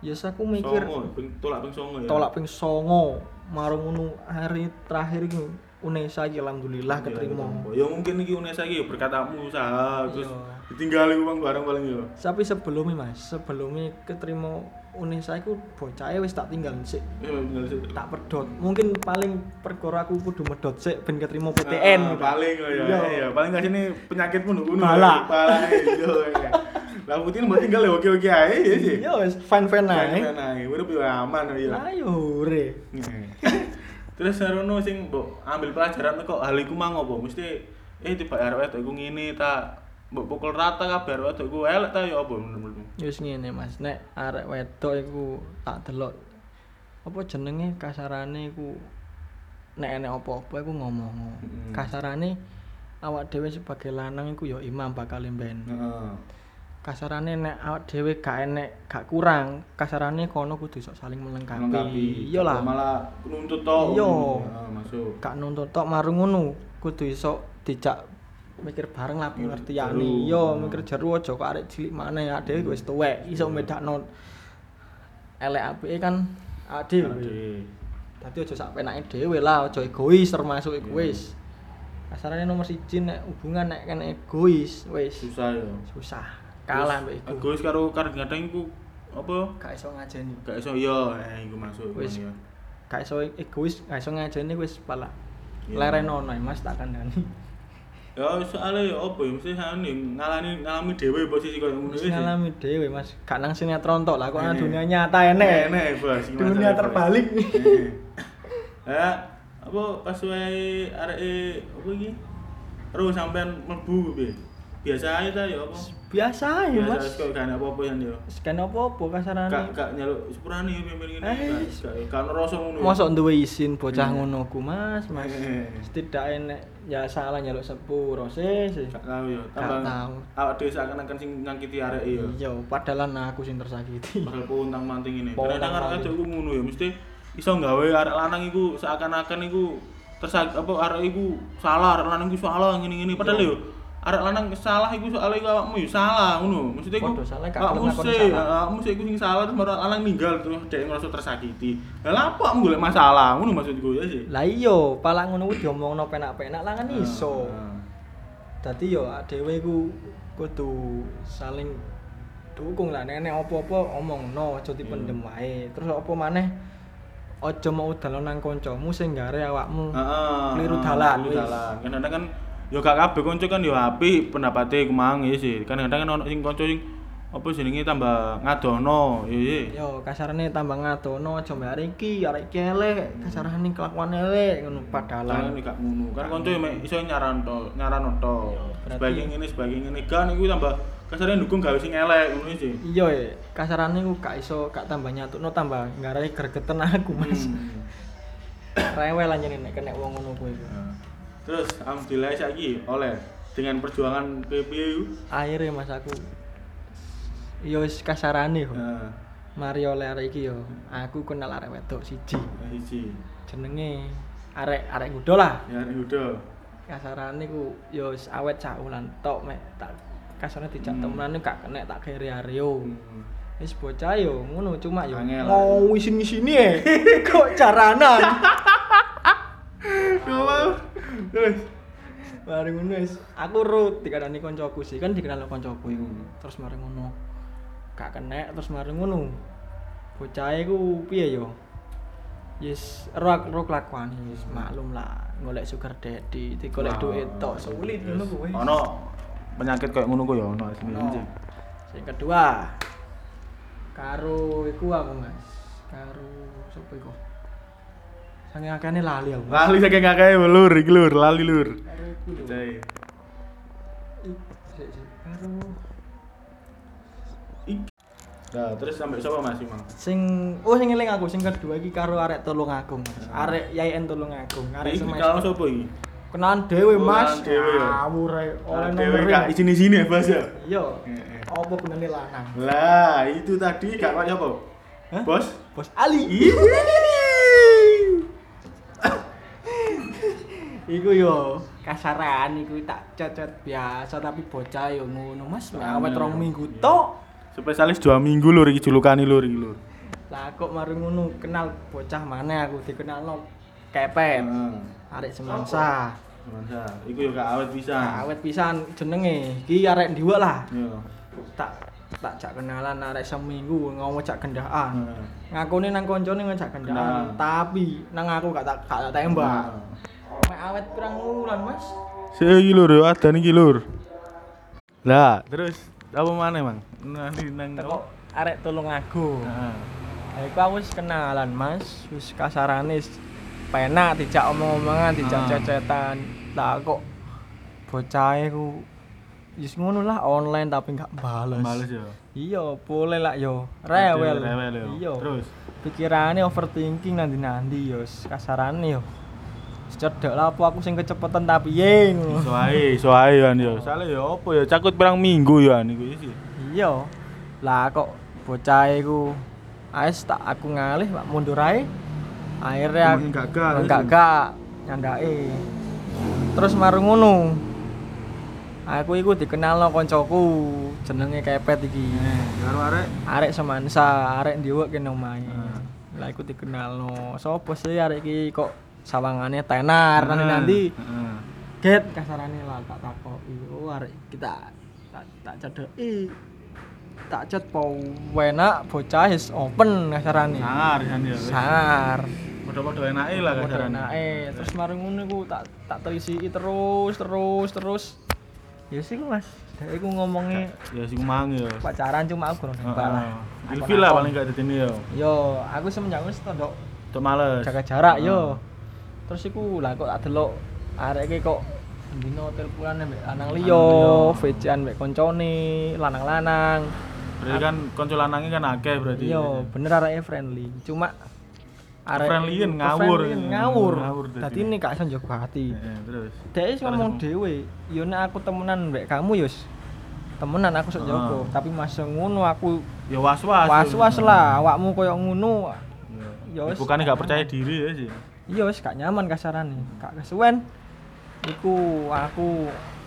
Yes aku mikir Songo, ping tolak ping songo ya. tolak ping songo marung ngono hari terakhir iki Unesa iki alhamdulillah keterima. Ya mungkin iki Unesa iki berkatamu usaha terus Iya. ditinggali uang barang paling yo. Tapi sebelumnya Mas, sebelumnya keterima Unesa iku bocahe wis tak tinggal sik. Ya tinggal sik. Tak pedot. Mungkin paling perkara aku kudu medot sik ben keterima P T Ah, N. paling oh ya. Iya. Iya, paling gak sini penyakitmu ngono. Bala. Bala iya. Lah putih mbok tinggal ya oke-oke ae ya sih. Yo wis fine-fine ae. Kan ae, urip yo aman ya. Ayo ure. Terus sarono sing mbok ambil pelajaran kok hal iku mang apa? Mesti eh tiba arek wedok iku ngene ta mbok pukul rata kabeh arek wedok iku elek ta ya apa menurutmu? Wis ngene Mas, nek arek wedok iku tak delok apa jenenge kasarane iku nek enek apa-apa iku ngomong. Mm. Kasarane awak dhewe sebagai lanang iku ya imam bakal mben. Heeh. Kasarane nek awak dhewe gak enek gak kurang, kasarane kono kudu iso saling melengkapi. Melengkapi. Iyalah. Malah nuntut tok. Iya. Heeh, masuk. Gak nuntut tok marung ngono, kudu iso dijak mikir bareng lah Mikir pengertiane. jeru. Yo Hmm. mikir jeru aja kok arek cilik maneh awake dhewe wis tuwek, iso medakno elek apike kan awake dhewe. Ade. Dadi aja sak penake dhewe lah, aja egois termasuk Iya. egois. Kasarane nomor siji nek hubungan nek kene egois wis Susah ya. susah. Kalah mbek iku. Egois karo kadang-kadang iku apa? Gak iso ngajeni. Gak iso yo, eh iku masuk. Wis. ya. Gak iso egois, gak iso ngajeni wis pala. Iya. Lerenono Mas tak kandhani. Ya soalnya ya apa ya mesti ane ngalami ngalami dhewe posisi koyo ngono Wis wis. ngalami dhewe Mas, gak nang sinetron tok lah kok nang Eh. dunia nyata enek. Enek bos. iki Dunia masalah, Bos. terbalik. Eh. Ya, apa pas wae areke apa iki? Terus sampean mlebu piye? Biasa ae ta ya apa? Biasa ya Biasa Mas. kok gak ana apa-apa ya yo. Sekan apa-apa kasarane. Gak gak nyaluk sepurane yo pimpin ngene. Eh. Gak gak ono rasa ngono. Mosok duwe izin bocah Eh. ngono ku Mas, Mas. Eh. Setidaknya nek ya salah nyaluk sepuro sih. sih. Gak tahu ya. Gak Tambah tahu. awak dhewe seakan-akan sing nyakiti arek ya. Iya, padahal aku sing tersakiti. Bakal puntang manting ini. Pontang Kadang arek manting. kadang iku ngono ya, mesti iso gawe arek lanang iku seakan-akan iku tersak apa arek iku salah, arek lanang iku salah ngene-ngene padahal Iya. yo arek lanang salah iku soalnya iku awakmu yo salah ngono. Maksudnya iku Podo salah, gak awakmu gelem ngakoni sih, salah. awakmu sih iku sing salah terus baru lanang ninggal terus dhek ngerasa tersakiti. Lah lha apa kamu golek masalah ngono maksudku ya sih. Lah iya, pala ngono ku diomongno penak-penak lah kan iso. Ah, Dadi yo dhewe iku kudu saling dukung lah nek nek apa-apa omongno aja dipendem wae. Terus apa maneh aja mau dalan nang kancamu sing gare awakmu. Heeh. Keliru dalan, Keliru wis. dalan. Kadang-kadang kan yo gak kabeh kanca kan yo apik pendapate ku mang ya sih. Kadang-kadang kan ono sing kanca sing apa jenenge tambah ngadono, ya ya. Yo kasarane tambah ngadono aja mbak arek iki, arek iki elek, kasarane kelakuan elek ngono Dalan padahal. gak ngono. Kan kanca yo mek iso nyaran to, nyaran to. Yo, berarti- Sebagai ngene, sebagai ngene kan iku tambah kasarane dukung gawe sing elek ngono sih. Iya ya, kasarane ku gak iso gak tambah nyatuno tambah ngarai gregeten aku Mas. Hmm. Rewel anjene nek kena wong ngono kuwi. Nah. Terus alhamdulillah saiki oleh dengan perjuangan P P U. Akhire Mas aku yo wis kasarane kok. Nah, Mari oleh arek iki yo. Aku kenal arek wedok siji. siji. Jenenge arek arek kudo lah. Ya udah. Kasarane ku yo wis awet caulan tok mek tak kasarane dijak Hmm. temenan gak kena tak kere areo. Hmm. Wis bocah yo ngono cuma yo Angel. mau isin-isini e. Kok caranan. Coba. Terus Mari ngono wis aku rut dikandani koncoku sih kan dikenal koncoku iku. Hmm. Terus mari ngono. Gak kena terus mari ngono. Bocah iku piye yo? Yes, ro ro kelakuan wis maklum lah golek sugar daddy, digolek Wah, duit tok sulit ngono kuwi. ono penyakit kayak ngono ku ya ono asline No. sih. Sing kedua karo iku aku Mas. Karo sapa iku? Sange akane lali aku. Lali saking akeh lur iki lur, lali lur. Karo iku lho. Cai. Ik- sik, sik. Karo Nah, terus sampai sapa Mas Imam? sing oh sing eling aku sing kedua iki karo arek Tulungagung Mas. Arek Yayan Tulungagung, arek Iki semester. kalau sapa iki? Kenalan dhewe Mas. Kenalan dhewe ya? Ngawur ae oleh Dewe nomor. kak izin-izin ya, Bos ya. Iya. Heeh. Apa gunane lanang? Lah, itu tadi gak kok apa? Hah? Bos? Bos Ali. Ih. Iku yo kasaran iku tak cecet biasa tapi bocah yo ngono Mas. Awet rong minggu tok. Spesialis dua minggu lur iki julukane lur iki lur. Lah kok mari ngono kenal bocah maneh aku dikenalno kepet. Heeh. Arek semansa. Mansa. Iku yo gak awet pisan. Awet pisan jenenge. Iki arek ndiwek lah. Yo. Tak tak jak kenalan arek seminggu ngomong jak gendaan. Heeh. Ngakune nang koncone ngajak gendaan, Kenalan. tapi nang aku gak tak gak tak tembak. Mek awet pirang wulan, Mas? Sik iki lur yo adan iki lur. Lah, terus apa maneh, Mang? Nanti nang Teko arek tulung aku. Heeh. Lah iku aku wis kenalan, Mas. Wis kasarane wis penak dijak omong-omongan, dijak Ah. cecetan. Lah kok bocah ku wis ngono lah online tapi gak bales. Males yo. Iya, boleh lah yo. Rewel. Rewel yo. Iya. Terus Pikirane overthinking nanti-nanti yo kasarane yo. Cedek lah apa aku sing kecepetan tapi piye ngono. iso ae, iso ae kan yo. Sale yo apa yo cakut pirang minggu yo an iku iki. Iya. Lah kok bocah iku ais tak aku ngalih Pak mundur ae. Akhirnya Makin gagal. enggak gak nyandake. Terus marung ngono. Aku iku dikenalno koncoku jenenge Kepet iki. Eh, karo arek Arek semansa, arek ndiwek kene omahe. Ah. Lah iku dikenalno. Sopo sih arek iki kok sawangane tenar nanti-nanti. Heeh. Get kasarane lah tak takoki. Oh arek kita tak tak cedeki. Tak cet po enak bocah is open kasarane. Sangar kan yo. Sangar. Padha-padha enake lah kasarane. Enake. Terus mari ngono iku tak tak telisiki terus terus terus. Ya sih Mas. Dek iku ngomongi Ya sing mang yo. pacaran cuma aku kurang nembak lah. Heeh. Ilfil lah paling gak dadine yo. Yo, aku semenjak wis tondok Tok males. jaga jarak Heeh. yo. Terus iku lah kok tak delok arek iki kok dino teleponan mbek lanang liya, liya. V C-an mbek koncone, lanang-lanang. Berarti kan kanca lanange kan akeh berarti. Iya, bener areke friendly. Cuma Friendly-an ngawur. friendly-an ngawur. Ngawur dadi. Dadi ini gak iso njaga ati. Heeh, terus. Dek wis ngomong dhewe, yo nek aku temenan mbek kamu yo wis temenan aku sok njaga, Ah. tapi masa ngono aku Ya was-was. was-was lah awakmu koyo ngono. Ya Ya wis. bukannya gak percaya diri ya sih. Iya wis gak nyaman kasarane. Gak kesuwen. Iku aku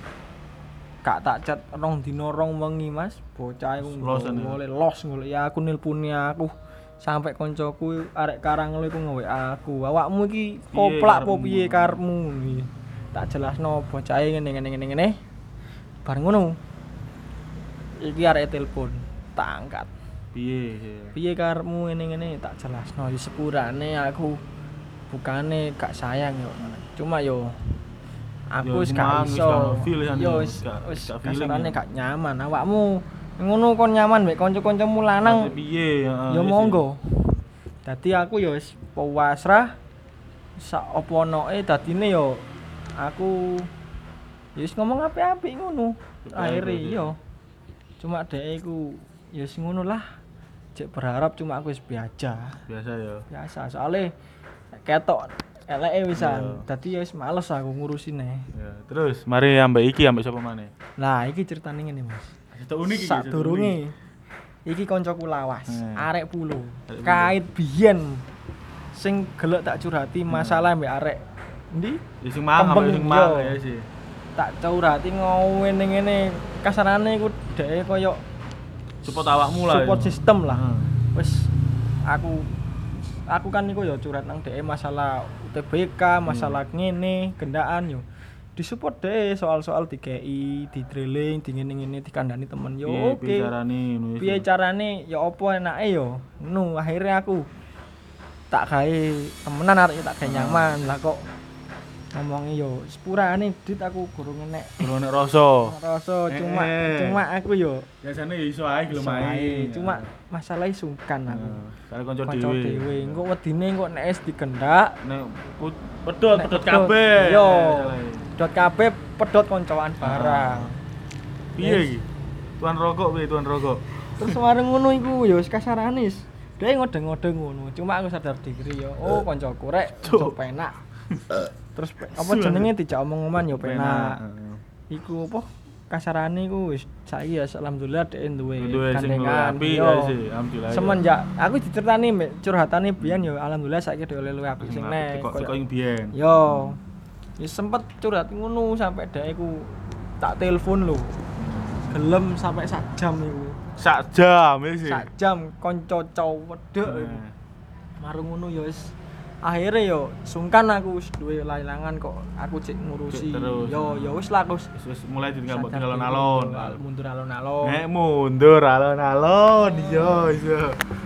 gak tak chat rong dino rong wengi Mas. Bocah iku Losan ya? ngoleh los ngoleh ya aku nilpuni aku sampai koncoku arek Karanglo iku nge-W A aku. Awakmu iki Piye koplak apa karepmu? piye karepmu iki. Tak jelasno bocah e ngene ngene ngene ngene. Bar ngono. Iki arek telepon, tak angkat. Piye? Piye karepmu ngene ngene tak jelasno ya sepurane aku bukane gak sayang yo. Cuma yo aku Yo, wis emang gak wis iso. gak feel kan, Yo yo, wis gak- wis gak feeling, kasarane yo. gak nyaman. Awakmu ngono kon nyaman mek kanca-kancamu lanang. Piye? Heeh, Ya iya sih. monggo. Dadi aku yo wis pasrah sak opo onoke dadine yo aku ya wis ngomong apik-apik ngono. Akhire berarti. yo. Cuma dhek iku ya wis ngono lah. Cek berharap cuma aku wis biasa. Biasa ya. Biasa soalnya ketok eleke wisan. Iya. Dadi ya wis males aku ngurusine. Ya, terus mari ambek iki ambek sapa maneh? Lah iki ceritane ngene Mas. Cerita unik iki. cerita Sadurunge unik. iki kancaku lawas, Hmm. arek pulo. Arek pulo. Kait biyen sing gelek tak curhati masalah mbek arek ndi Ya sing mang ambek Kembeng, sing mang yo. ya sih. tak curhati ngene ngene kasarane iku dhek koyo Support awakmu lah. support ya. system lah. Heeh. Wis aku aku kan iku ya curhat nang dhek masalah U T B K, masalah ngene, gendaan yo. Disupport deh soal-soal di K I, di drilling, di ngene-ngene dikandani temen yo. Piye- Oke. piye carane ngono ya Piye sih. carane ya apa enake yo. Ngono akhirnya aku tak gawe temenan arek tak gawe nyaman. Lah kok ngomongi yo sepurane dit aku gurung enek Ora nek rasa. rasa cuma Eh. cuma aku yo Biasane ya iso ae gelem ae. ae. Cuma masalahnya sungkan aku. karo kanca Kanca dhewe. dhewe, engko wedine engko nek es digendak, Nek put- pedot nek pedot pedot. kabeh. Yo. Masalahe. dot kabeh pedot koncoan barang. Piye iki? Tuan rokok piye tuan rokok? Terus wareng ngono iku ya wis kasarane wis. Dhek ngodeng-ngodeng ngono. Cuma aku sadar diri yo, oh koncoku rek Cuk. kanca penak. Terus pe- apa Su, jenenge dijak omong-omongan yo penak. Heeh. Iku apa kasarane iku wis saiki ya alhamdulillah dhek duwe Duwe sing luwih gandengan. apik Yo. ya sih, alhamdulillah. ya. Semenjak aku diceritani mbek curhatane biyen yo alhamdulillah saiki dhewe luwih apik sing nek. Kok koyo- kok yang biyen. Yo. Ya sempet curhat ngono sampai dhek iku tak telepon lho. gelem sampai sak jam iku. Sak jam ya sih. Sak jam kanca cowedek iku. Nah. Marung ngono ya wis akhirnya yo sungkan aku wis duwe layangan kok aku cek ngurusi. Cek terus. Yo yo wis lah aku wis Wis mulai ditinggal sadar tinggal diri, alon-alon. mundur alon-alon. Nek mundur alon-alon yo iso.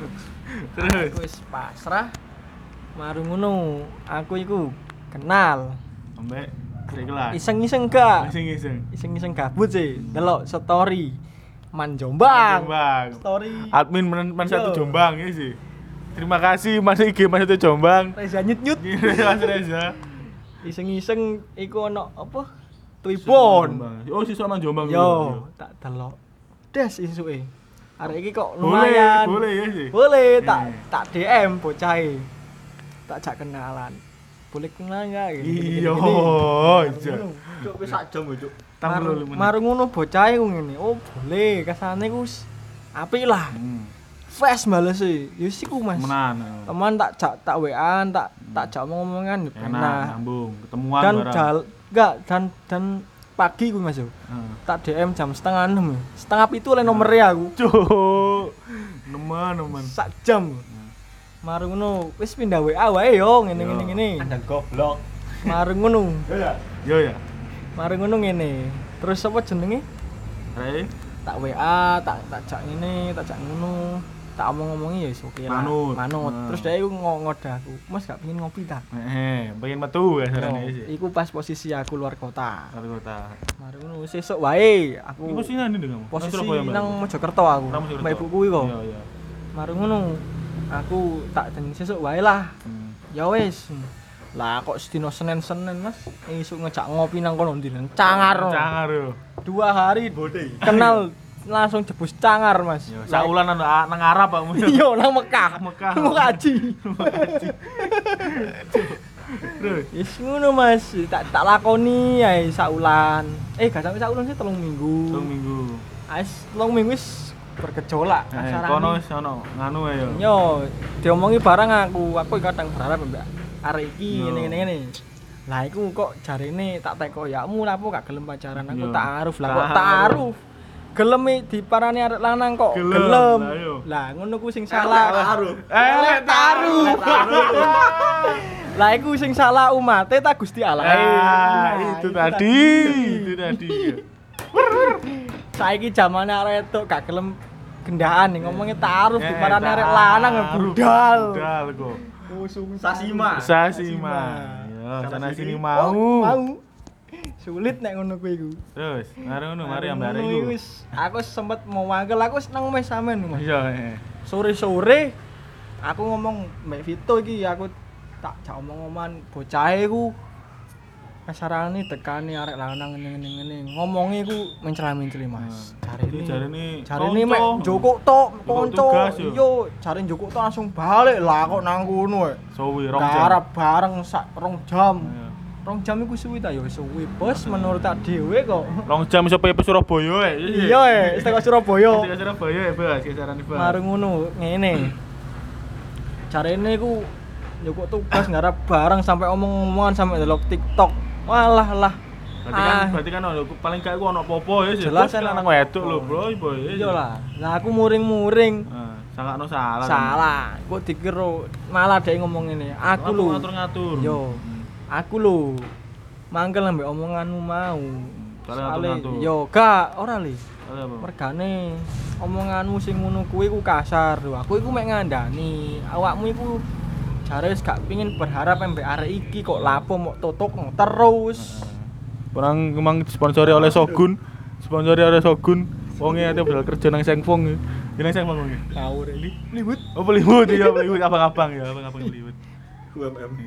Terus Aku wis pasrah. Marung ngono, aku iku kenal. ambek sik kelas. Iseng-iseng gak? Iseng-iseng. Iseng-iseng gabut sih. Delok story Man Jombang. Jombang. Story Admin Man, Man satu Yo. Jombang ya sih. Terima kasih Mas I G Man satu Jombang. Reza nyut-nyut. Mas Reza. Iseng-iseng iku ono apa? Twibbon. Oh, siswa Man Jombang. Yo, tak delok. Des isuke. Arek iki kok Boleh, lumayan. boleh ya sih. Boleh, tak Eh. tak D M bocahe. Tak jak kenalan. Boleh kenalan enggak? Iya, iya. Cuk wis sak jam cuk. Tambah Marung lu. marung ngono bocahe ku ngene. Oh, boleh. Kasane ku wis apik lah. Hmm. Fast bales e. Ya wis iku, Mas. Menan. Teman tak jak tak W A-an, tak tak jak omong-omongan yo Enak, enak. nyambung, ketemuan Dan bareng. jal enggak dan dan pagi ku Mas yo. Heeh. Tak D M jam setengah enam ya. Setengah pitu oleh nomornya aku. Cuk. Nemen-nemen. Sak jam. Marung ngono, wis pindah W A wae yo ngene Yo. ngene ngene. Anda goblok. Marung ngono. Ya. Yo ya. Marung ngono ngene. Terus apa jenenge? Rek. Tak W A, tak tak jak ngene, tak jak ngono. Tak omong-omongi ya wis oke lah. Manut. Manut. Nah. Terus dia iku ngo- ngodah aku. Mas gak pengen ngopi ta? Heeh, pengen metu ya Yo, sarane sih. iku pas posisi aku luar kota. Karo kota. Marung ngono sesuk wae aku. Iku sih nang ndi kamu? Posisi Surabaya, Mbak? nang Mojokerto aku. Nang Mojokerto. Mbak ibuku iku. Iya, iya. Marung ngono. Aku tak jeneng sesuk wae lah. Hmm. Ya wis. Lah kok sedino Senin-Senin Mas, isuk ngejak ngopi nang kono ndi nang Cangar. Cangar yo. Dua hari Bodhe. kenal langsung jebus Cangar Mas. Yo, Lah, saulan nang nang Arab kamu. iya nang Mekah. Mekah. Mau kaji. Terus. Wis ngono Mas, tak tak lakoni ae saulan. Eh gak sampe saulan sih telung minggu. Telung minggu. Ais telung minggu wis bergejolak Eh, kasarane. kono wis ono nganu ae yo. Yo, diomongi barang aku, aku kadang berharap mbak arek iki Yo. ngene ngene ngene. Lah iku kok jarine tak teko yakmu lapo gak gelem pacaran aku Yo. taaruf lah kok Taaruf. taaruf. Gelem i diparani arek lanang kok Gelem, gelem. lah yo. Lah ngono ku sing salah. Taruh. Eh, lek taruh. Lah iku sing salah umate ta Gusti Allah. Ah, Nah, itu tadi, itu tadi. Saiki zamane arek wedok gak gelem gendaan nih ngomongnya taaruf Eh, diparani arek taruh. lanang ya budal. Budal kok. Usung Sasima. Sasima. Yo, sana sini mau. Oh, mau. Sulit nek ngono kuwi iku. Terus, mari ngono, mari ambek arek Ngono iku. wis, aku sempet mau mangkel, aku wis nang omahe sampean Mas. Iya, eh. Sore-sore aku ngomong Mbak Vito iki aku tak jak omong-omongan bocahe iku kasarane tekani arek lanang ngene-ngene ngene. Ngomongnya iku mencela-menceli Mas. Jadi Jarine jarine jarine mek konco. njukuk tok Njukuk kanca. tugas yo. Iya, jare njukuk tok langsung balik lah kok nang kono. Suwi rong jam. Darap bareng sak rong jam. Iya. Rong jam iku suwi ta ya wis suwi, Bos, menurut tak dhewe kok. Rong jam iso pe Surabaya eh. Iya, eh, wis teko Surabaya. Ke Surabaya ya, Bas, kisaran Bas. Marung ngono, ngene. Jarene iku njukuk tugas ngarep bareng sampai omong-omongan sampai delok TikTok. Walah lah. Berarti kan Ah, berarti kan ono paling gak ku ono apa-apa ya sih. Jelas Bos, kan nang ono wedok apa-apa. lho, Bro, Bro. iya lah. Lah aku muring-muring. Heeh, sangakno salah. Salah. Kok dikira malah dhek ngomong ngene. Aku lho. ngatur-ngatur. Yo. Aku lho. Mangkel ambek omonganmu mau. Soale Soale ngatur-ngatur. yo gak ora le. Apa? Mergane omonganmu sing ngono kuwi ku kasar lho. Aku iku mek ngandani. Awakmu iku jare wis gak pengin berharap ambek arek iki kok lapo mok tutuk terus. Kurang emang disponsori oleh Shogun. Disponsori oleh Shogun. Wonge ate badal kerja nang Sengfong. Ya nang Sengfong wonge. Ngawur iki. Liwut. Oh, Bollywood ya, Bollywood abang-abang ya, abang-abang Bollywood. U M M.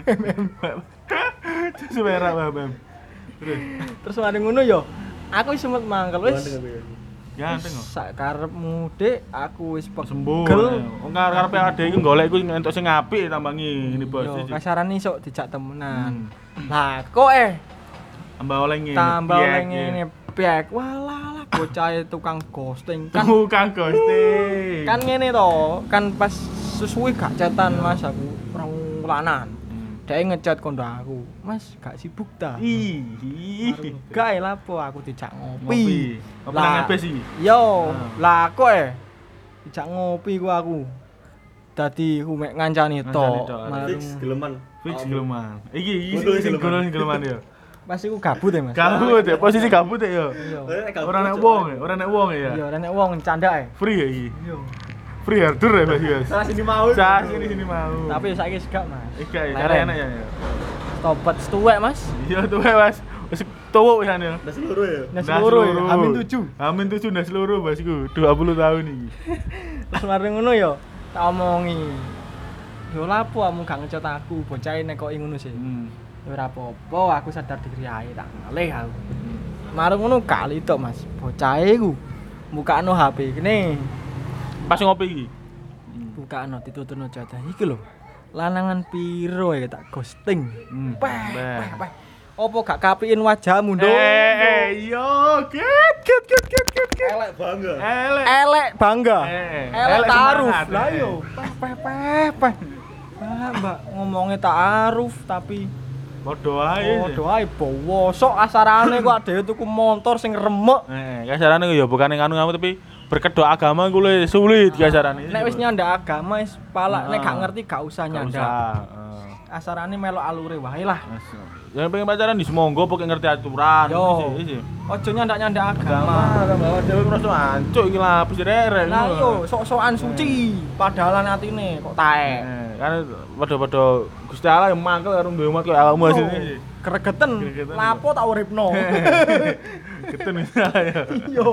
Semera B M. Terus Terus mari ngono yo. Aku wis sempet mangkel wis. ganteng kok. Sak karepmu Dik, aku wis Sembuh. pegel. Wong karepe ade iki golek iku entuk sing apik tambangi ini bos. Yo, kasarane iso dijak temenan. Hmm. Lah, kok eh Tambah oleh ngene. tambah piek, oleh ya. ngene piek. Walah lah bocah tukang ghosting kan. Tukang ghosting. Kan ngene to, kan pas sesuai gak cetan Mas aku orang lanan. Hmm. Dhek ngechat kondo aku. Mas, gak sibuk ta? Ih. Gak lapo aku dijak Ngopi. ngopi. Apa nang ngebes iki? Yo, Ah. lah kok eh dijak ngopi ku aku. Dadi ku mek ngancani Ngancani tok. tok. Marung- Fix geleman. Fix geleman. Iki iki Gundul sing geleman. gundul geleman ya. Pas iku gabut ya, Mas. Gabut ya, posisi gabut ya. Iya. Ora nek wong ya, ora nek wong ya. Iya, ora nek wong candak e. Free ya iki. Iya. Free harder ya Mas Yos. Salah sini mau. Sah sini sini mau. Tapi saiki segak, Mas. Iki ya, Leren. cara enak ya. Tobat setuwek, Mas. Iya tuh Mas. Wis tuwuk wisan ya. Udah seluruh ya. Nah, seluruh ya, amin tujuh. Amin tujuh nah seluruh Mas iku dua puluh tahun iki. Terus mari ngono ya, tak omongi. Yo lapo kamu gak ngecet aku, bocah nek kok ngono sih. Hmm. Ya ora apa-apa, aku sadar diri ae tak ngalih aku. Mari ngono kali tok, Mas. Bocah iku mbukakno H P kene. Pas ngopi iki. Bukakno dituturno jadah iki lho. Lanangan piro ya tak ghosting. Hmm. Peh, Beh. peh, peh. Opo gak kapiin wajahmu, Nduk? Eh, eh, yo, get, get, get, get, get, get. Elek bangga. Elek. Elek bangga. Eh, Elek elek taaruf. semangat, Lah eh. yo, peh peh peh peh. Ah, Mbak ngomongnya taaruf tapi Podo ae. oh doae bowosok asarane kok dhewe tuku motor sing remek. Eh, kasarane ya bukan nganu ngamu tapi berkedok agama ku le sulit kasarane. Nek wis nyandak agama wis pala nek gak Ah. ngerti gak usah Nggak nyandak. usah, eh. Asarane melok alure wae lah. Yang pengen pacaran di semonggo pokoknya ngerti aturan. Yo. Isi, isi. Ojo nyandak-nyandak Agama, agama. agama dhewe ngerasa ancuk iki lapis rere. Lah yo sok-sokan suci padahal atine kok taek. Eh, kan padha-padha Gusti Allah yang mangkel karo duwe umat koyo awakmu asine. Gregeten. Gregeten. Lapo tak uripno. Ketun ya. Yo.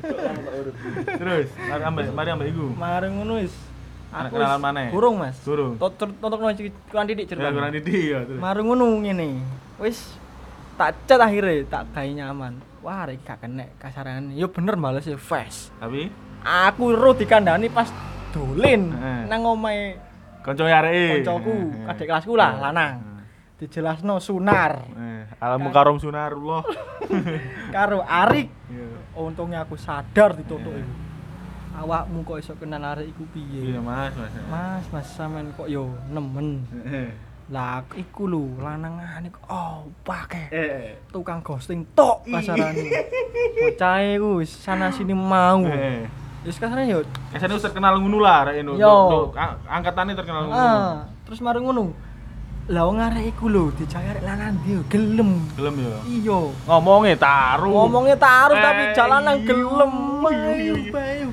Terus, mari ambek mari ambek iku. Mari ngono wis. Anak Aku kenalan wis maneh? Gurung, Mas. Gurung. Tonton kurang didik Ya cerita. kurang didik ya terus. Mari ngono ngene. Wis tak chat akhirnya tak gawe nyaman. Wah, arek gak kena kasarane. Yo bener males ya fast. Tapi Aku ro dikandani pas dolen Heeh. nang omahe kanca areke. koncoku, Eh, adik kelasku lah, eh, lanang. eh. Dijelasno sunar Eh, alamu karom sunarullah. karo Arik. Iya. Untungnya aku sadar ditutuk iku. Awakmu kok iso kenal arek iku piye? Iya, Mas, Mas. Mas, Mas sampean kok yo nemen. Eh, Lah iku lho lanangane kok oh pake. eh. Tukang ghosting tok kasarane. Bocah iku wis sana sini mau. Eh. Wis kasarane yo Kesane wis terkenal ngono lah arek itu. Yo. Angkatane terkenal ngono. ah, terus mari ngono. Lah wong arek iku lho dicari arek lanang dia gelem. Gelem ya. Iya. Ngomongnya taruh. Ngomongnya taruh Eh, tapi jalanan iya, gelem. iya, Ayo, iya. bayu.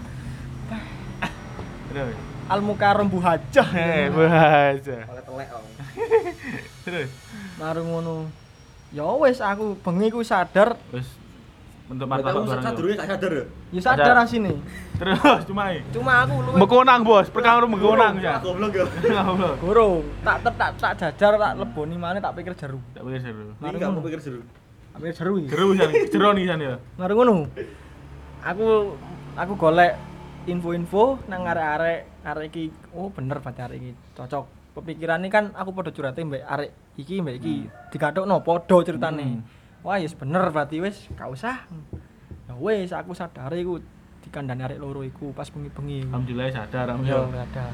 Terus. Al Mukarram Bu Hajah. Eh, bahasa. Oleh telek om. Terus. Mari ngono. Ya wis aku bengi ku sadar, Wis bentuk Berarti martabak kamu bareng. sadurunge gak sadar ya? ya sadar Sadar. asine. Terus cuma i. Cuma aku luwih Mekonang, Bos. Perkara mekonang ya. Ah, goblok ya. Goblok. gorong. Tak tak tak, tak jajar tak leboni maneh tak pikir jeru. Tak pikir seru. Ini gak mau pikir seru. Tak pikir jeru iki. Jeru san, jero nih san ya. Mari ngono. Aku aku golek info-info nang arek-arek arek iki. Oh bener berarti arek iki cocok. Pemikiran ini kan aku padha curhate mbek arek iki mbek iki. Digathukno padha ceritane. Hmm. Wah, yes bener berarti wis gak usah. Ya wis aku sadar iku dikandani arek loro iku pas bengi-bengi. Alhamdulillah sadar Yo alhamdulillah. sadar.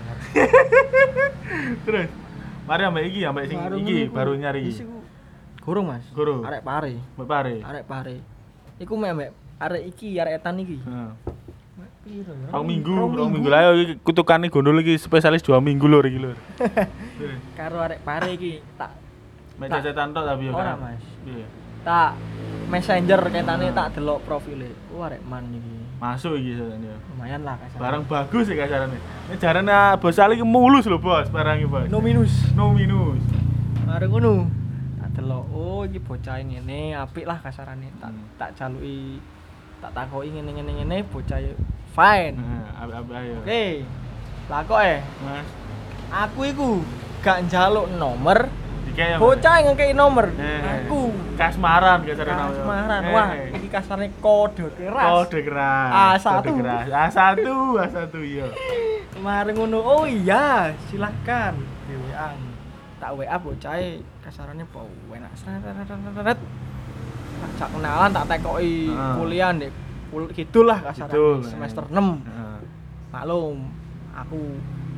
Terus. Mari ambek iki, ambek sing Baru iki ngono ku. baru nyari Wis iki. iku. Gurung, Mas. Gurung. Arek pare. Mbak Pare. Arek pare. Iku mek mek arek iki, arek etan iki. Heeh. Piro ya? Rong minggu, rong minggu lah iki kutukane gondol iki spesialis dua minggu lho iki lho. Terus. Karo arek pare iki tak Mek Tak. cacetan tok tapi yo Ora, kan. Mas. Iya. tak messenger ketane tak delok profile. Wah, arek man iki. Masuk iki jane. Lumayan lah kasar. Barang bagus ya kasarane. Ini jarane Bos Ali ki mulus lho, Bos, barang iki, Bos. no minus. No minus. Mari ngono. Tak delok, oh iki bocah ngene, apik lah kasarane. Tak Hmm. tak jaluki tak takoki ngene-ngene ngene bocah fine. Heeh, apik-apik ayo. Oke. Lah kok eh Mas, aku iku gak njaluk nomor, dikek ya. bocah ngekei nomor. Eh, Aku kasmaran kasarane. kasmaran. Eh, Wah, iki kasarane kode keras. Kode keras. A satu. Kode keras. A satu, A satu iya. Kemarin ngono, oh iya, silahkan di W A. Tak W A bocah kasarannya bau enak seret. Tak kenalan tak tekoki Heeh. kuliah ndek kul kidul lah kasarane Kidul, semester eh. enam. Heeh. Maklum, aku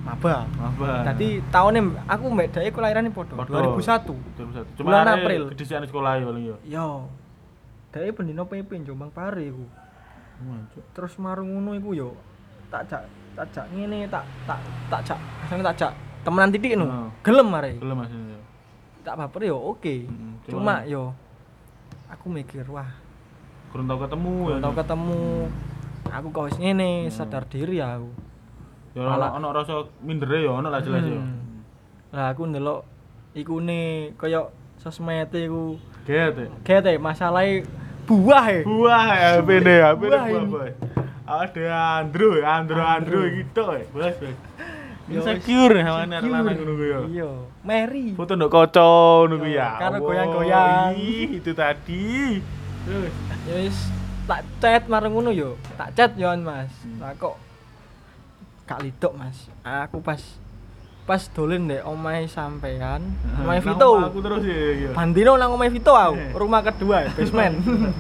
maba. Maba. Dadi taune aku mbek dhek kelahirane padha Padha. dua ribu satu. dua ribu satu. Cuma Bulan arek April. Kedisian sekolah ya paling ya. Yo. Dhek pendino P P Jombang Pare iku. Wancuk. Terus marung ngono iku yo tak jak tak jak ngene tak tak tak jak asane tak jak temenan titik no. Heeh. Gelem arek. Gelem Mas. Ya. Tak baper yo oke. Mm, Cuma cuma- yo aku mikir wah, Kurang tau ketemu ya. tau ketemu aku kok wis ngene, sadar diri aku. Ya ono Malah- ono rasa mindere ya ono lah jelas ya. Hmm. Lah aku ndelok ikune kaya sosmed iku Get. ya. gete masalahe buah e. Buah ya H P-ne, H P-ne Buah buah ini. boy. Ada Andro, Andro, Andro gitu ya. Bos, bos. Yo, Insecure sama anak insecure. lanang ngono ku ya. Iya, Mary. Foto ndok kaca ngono ku Yo, ya. karo Allah, goyang-goyang. ih, itu tadi. Terus Ya wis tak chat mareng ngono yo. Tak chat yo Mas. Hmm. Lah kok gak lidok Mas. Aku pas pas dolen ndek omahe sampean, omahe Nang Vito. omah aku terus ya ya. Bandino nang omahe Vito aku, Eh. rumah kedua, basement.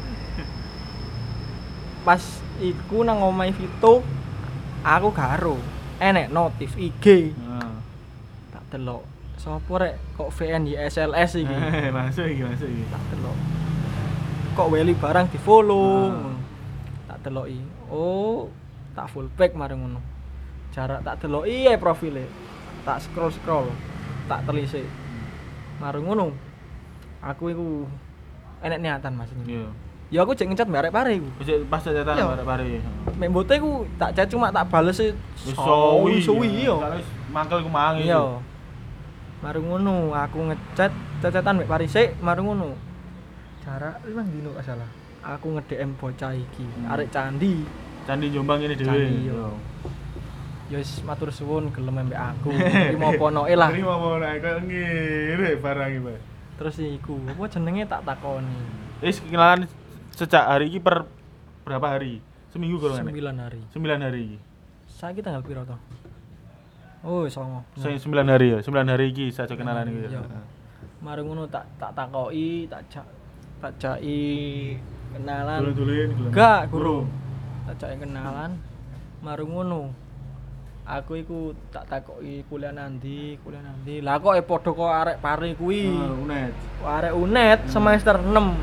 Pas iku nang omahe Vito, aku karo enek notif I G. Heeh. Tak delok. Sopo rek kok V N Y S L S iki? Eh, masuk iki, masuk iki. Tak delok. Kok Welly barang di-follow. Ah. ngono. Tak deloki. Oh, tak full back mareng ngono. Jarak tak deloki ae profile. Tak scroll-scroll. Tak telisik. Mareng ngono. Aku iku enek niatan Mas ini. Iya. Ya aku cek ngecat mbak arek pare iku. Wis pas catatan Iya. bare-bare. Mek mbote iku tak chat cuma tak bales e Wis suwi. suwi iya. Kalau wis mangkel ku mangi. Iya. Mareng ngono, aku ngechat cecetan mek Parisik, mareng ngono. Jarak limang dino gak salah. Aku nge-D M bocah iki, Hmm. arek candi. Candi Jombang ini dhewe. Candi, yo. Ya wis matur suwun gelem mbek aku. Terima ponoke lah. Terima ponoke koyo ngene barang iki, Pak. Terus iku, apa jenenge tak takoni. Wis kenalan sejak hari ini per berapa hari? Seminggu kalau nggak? sembilan hari. Sembilan hari. Saiki tanggal piro to? Oh, songo. Se- Sembilan hari ya. Sembilan hari iki saya kenalan iki. Iya. Mareng ngono tak tak takoki, tak jak tak jaki kenalan. Dulin-dulin. Enggak, guru. Tak jaki kenalan. Mareng ngono. Aku iku tak takoki kuliah nanti, kuliah nanti. Lah kok e padha kok arek pare kuwi. Oh, unet. Arek unet semester enam.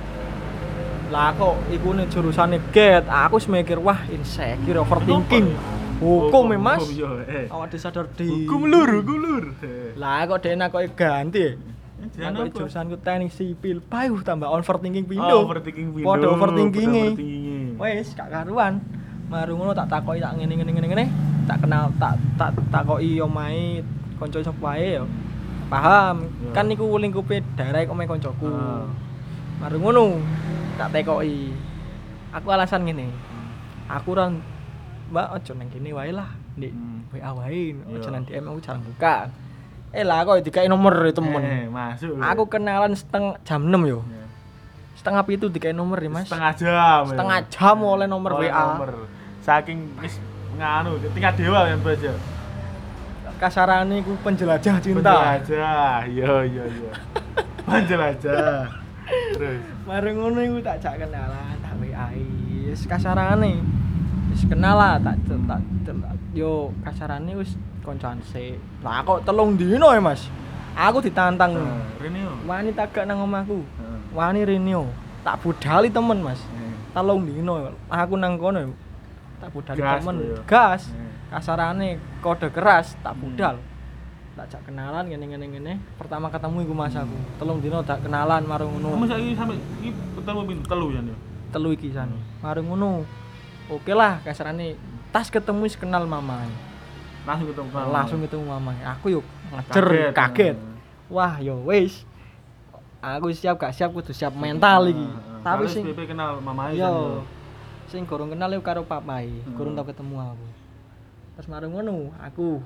Lah kok iku nih jurusane get. Aku wis mikir wah insecure overthinking. Hukum e Mas. Hukum yo. Eh. Awak disadar di. Hukum lur, hukum lur. Eh. Lah kok dene kok ganti. Jangan Aku apa? jurusanku teknik sipil. Payuh tambah overthinking Oh, pindo. overthinking window. Padha overthinking-e. overthinking-e. Wes gak karuan. Maru ngono tak takoki tak ngene ngene ngene ngene. Tak kenal tak tak takoki omahe kanca sapa wae ya. Paham. Ya. Kan niku lingkupe daerah omahe kancaku. Ah. Maru ngono tak tekoki. Aku alasan ngene. Aku ora Mbak ojo nang kene wae lah. Ndek Hmm. W A wae, ojo Iya. nang D M aku jarang buka. Eh lah kok dikai nomor e temen. Eh, masuk. Aku kenalan seteng jam enam yo. Ya. Setengah pitu dikai nomor ya Mas. Setengah jam. ya. Setengah jam oleh nomor Oleh W A. nomor. Saking wis nganu tingkat dewa yang baca. Kasarane iku penjelajah cinta. Penjelajah. Iya iya iya. Penjelajah. Terus Mari ngono iku tak jak kenalan, tak W A-i. Wis kasarane. Wis kenal lah tak tak tak- yo kasarane wis koncoan sik. Lah kok telung dino ya Mas. Aku ditantang. Nah, Rene yo. Wani tagak nang omahku. Heeh. Wani Renio. Tak budali temen Mas. Eh. Telung dino. Aku nang kono yo. Tak budali Gas temen. lho ya. Gas. Eh. Kasarane kode keras tak Hmm. budal. Tak jak kenalan ngene ngene ngene. Pertama ketemu iku Mas aku. Telung dino tak kenalan marung Kamu ngono. saiki sampe iki ketemu pin telu ya. Nyo? Telu iki san. Marung ngono. Oke lah kasarane tas ketemu wis kenal mamae. Langsung ketemu kamu. Langsung ketemu mamae. Aku yuk ngejer Kaget. kaget. Wah yo wis. Aku siap gak siap kudu siap mental iki. Heeh. Tapi Kalau sing S P P kenal mamae yo sing gorong kenal yo karo papai, Hmm. gorong tau ketemu aku. Terus marung ngono, aku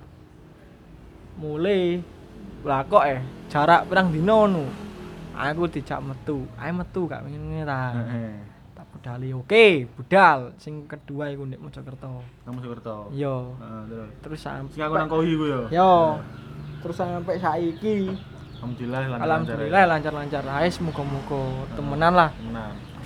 mulai lah kok eh jarak pirang dino ngono. Aku dijak metu. Ae metu gak ngene ta. Heeh. Tak budali. Oke, budal. Sing kedua iku ndek Mojokerto. Kamu Sukerto. Yo. Heeh, terus. Terus sampai Sing aku nang kohi ku yo. Yo. Terus sampai saiki Alhamdulillah lancar. alhamdulillah lancar-lancar. Ae muga-muga temenan lah. Temenan.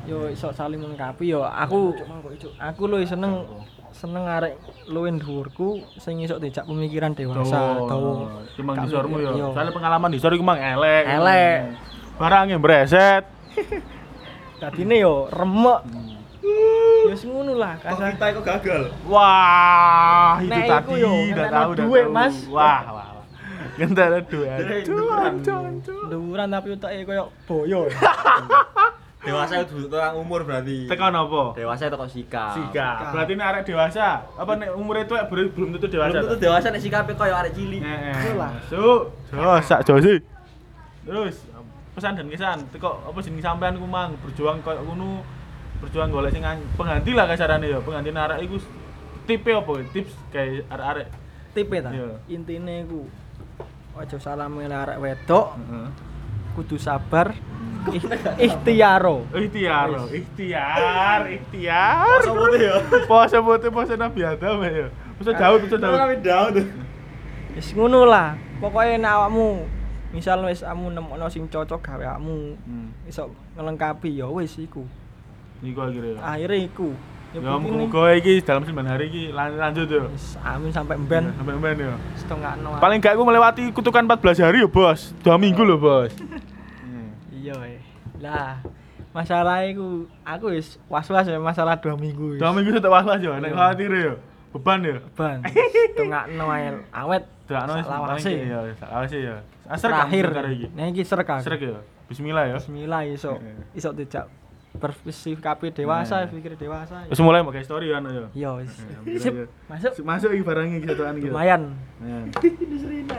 yo iso saling melengkapi yo. Aku aku luwih seneng seneng arek luwih dhuwurku sing iso dijak pemikiran dewasa, dawa. Cuma Gak disormu mikir, yo. yo. Soale pengalaman disor iku mang elek. Elek. Barangnya breset. Dadine yo remek. Ya wis ngono lah Kok kasar. kita kok gagal? Wah, itu Nek tadi iku yo, udah ngentekno tahu udah duit, tahu. Mas. Wah, wah. wah. Ngentekno duit. Jadi Aduh, dukuran. aduh, aduh. Dhuwuran tapi utake koyo boyo. Dewasa itu orang umur berarti. Tekan apa? Dewasa itu kok sikap. Sikap. Berarti nek arek dewasa, apa nek umur itu belum belum tentu dewasa. Belum tentu toh? dewasa nek sikape koyo arek cilik. Heeh. Betul lah. Masuk. So, sak josi. Terus pesan dan kesan teko apa jeneng sampean ku mang berjuang koyo ngono, berjuang golek sing an- pengganti lah kasarane ya. Pengganti arek iku tipe apa? Tips kayak arek-arek. Tipe ta. Iya. Intine iku aja salah milih arek wedok, Heeh. kudu sabar. Ih- Ikhtiaro. Ikhtiar, ikhtiar, ikhtiar. Poso putih ya. Poso putih, poso Nabi Adam ya. Poso Daud, poso Daud. Kami down tuh. Wis ngono lah. Pokoke nek awakmu misal wis kamu nemokno sing cocok gawe awakmu Hmm. iso ngelengkapi ya wis iku. Iku akhirnya. Akhire iku. Ya penting muga-muga iki dalam sembilan hari iki lan- lanjut ya. wis amin sampai mben Sampai mben ya. setengah no. Paling gak aku melewati kutukan empat belas hari ya, Bos. dua minggu loh, Bos. Iya eh. Lah masalah iku aku wis was-was ya masalah dua minggu. wis. dua minggu sudah was-was ya, nek Iya. khawatir ya. Beban ya. Ban. Setengah no ae awet. Dak ono Salawase. ya, salawase ya. Asar Terakhir. karo iki. Nah iki serek aku. Srek ya. Bismillah ya. Bismillah iso Heeh. iso dijak bersikap dewasa, Nah. pikir dewasa. Wis mulai pakai story kan ya. Iya wis. Alhamdulillah, Sip, ya. masuk. Masuk iki barangnya iki satuan iki. Lumayan. Nah. Ini serina.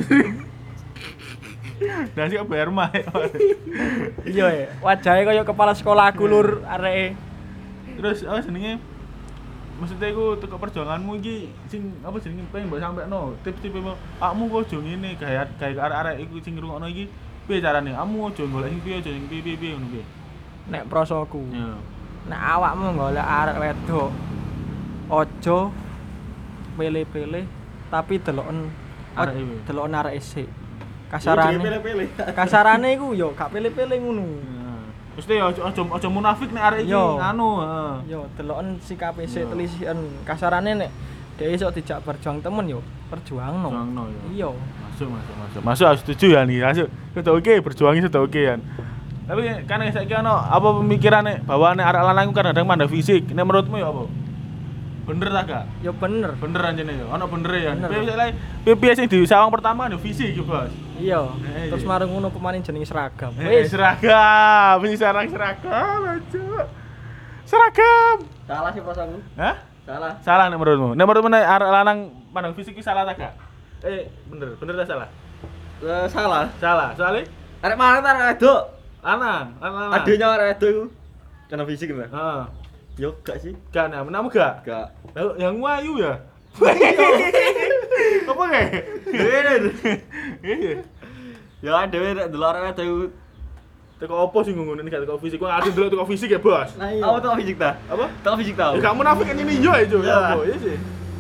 Nah sih bayar mah. Iya ya, wajahnya kaya kepala sekolah aku lur areke. Terus apa jenenge? Maksudnya iku teko perjuanganmu iki sing apa jenenge pengen mbok sampekno. Tips-tips mu, akmu kok aja ngene gawe gawe arek-arek iku sing ngrungokno iki piye carane? Akmu aja golek sing piye aja sing piye piye ngono piye. Nek prosoku. Ya. Nek awakmu golek arek wedok, ojo pilih-pilih tapi deloken Arek iki. deloken arek isik. Kasarane. Pilih-pilih. Kasarane iku yo gak pilih-pilih ngono. Mesti aja aja aja munafik nek arek iki Yo. nganu, heeh. Yo deloken sikap isik Yo. telisian. Kasarane nek dhewe iso dijak berjuang temen yo perjuangno. Perjuangno, yo. Iya. Masuk, masuk, masuk. Masuk aku setuju ya nih, masuk. Sudah oke, berjuangnya sudah oke kan. Tapi kan saiki ono apa pemikirannya bahwa nek arek lanang ku kadang-kadang mandang fisik. Nek menurutmu ya apa? Bener ta gak? Yo bener. Bener anjene ya. Ono bener ya. Bener. Piye misalnya piye piye sing di sawang pertama kan fisik yo, Bos. Iya. Eh, Terus iya. marung ngono pemain jenenge seragam. Eh, Wis. seragam, ini sarang seragam, aja. Seragam. Salah sih prosoku. Hah? Salah. Salah nek menurutmu? Nek menurutmu nek arek lanang mandang fisik iki salah ta gak? Eh, bener, bener ta salah? Eh, salah. Salah, soalnya Arek mana ta arek wedok? lanang, lanang. Adenya arek wedok iku. Karena fisik kan? Heeh. Yo gak sih. Gak nek menamu gak? Gak. Lah yang wayu ya. Apa kayak? Iya. Ya dhewe nek delok arek wedok iku. Teko opo sih ngono ini gak teko fisik. Kok ada dulu teko fisik ya, Bos? Nah, iya. Aku tau fisik ta? Apa? Tau fisik tau. Ya gak munafik kan ini yo itu Ya. ya apa ya sih.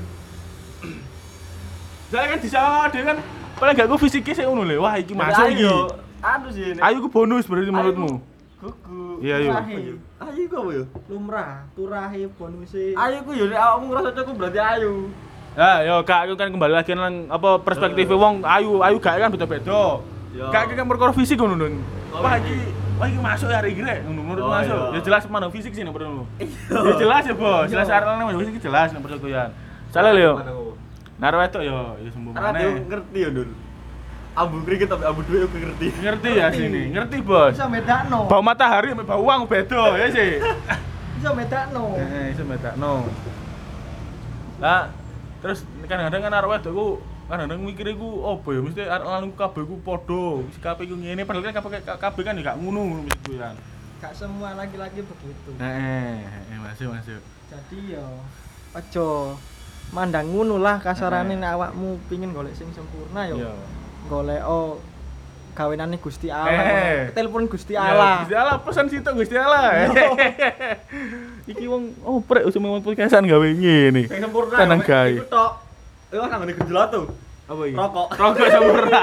Saya kan disawang ada kan paling gak ku fisiknya sih ngono lho. Wah, iki masuk iki. Ayo. Anu sih. Ayu ku bonus berarti menurutmu. Kuku. Iya, iya. Ayu. Ayu ku apa yo? Lumrah, turahe bonuse. Ayu ku yo nek awakmu ngrasa cocok berarti ayu. Ya, yo kak aku kan kembali lagi nang apa perspektif wong ayu, ayu gak kan beda-beda. Yo. Kak kan perkara fisik ngono lho. Oh, Wah, iya. iki wah iki masuk ya hari iki rek ngono menurut Oh, masuk. iya. Ya jelas mana fisik sih nek menurutmu. Iya. Ya jelas ya, Bos. Jelas Iya. arek lanang fisik jelas nek percayaan. Salah lho. Naro wedok yo ya sembuh Karena dia maneh. ngerti ya, Dul. Abu kriket tapi abu duit aku ngerti. Ngerti ya sini, ngerti, Bos. Bisa bedakno. Bau matahari sama bau uang beda ya sih. Bisa bedakno. Eh, iso bedakno. Lah, terus kadang-kadang kan arek wedok ku kadang-kadang mikir iku opo ya mesti arek lanang kabeh ku padha, sikape iku ngene padahal kan kabeh kabeh kan ya gak ngono ngono mesti kan. Gak semua laki-laki begitu. Heeh, heeh, masuk masuk. Jadi yo aja mandang ngono lah kasarane nek awakmu pingin golek sing sempurna yo. Iya. Golek oh gawenane Gusti Allah. Eh. Telepon Gusti Ya, Allah. Gusti Allah pesan situ Gusti Allah. Iki wong oprek usum mau podcastan gawe ngene. Sing sempurna. Tenang, ya, guys. Iku tok. Eh wah nang ngene gejolatu. Apa iki? Rokok. Rokok sempurna.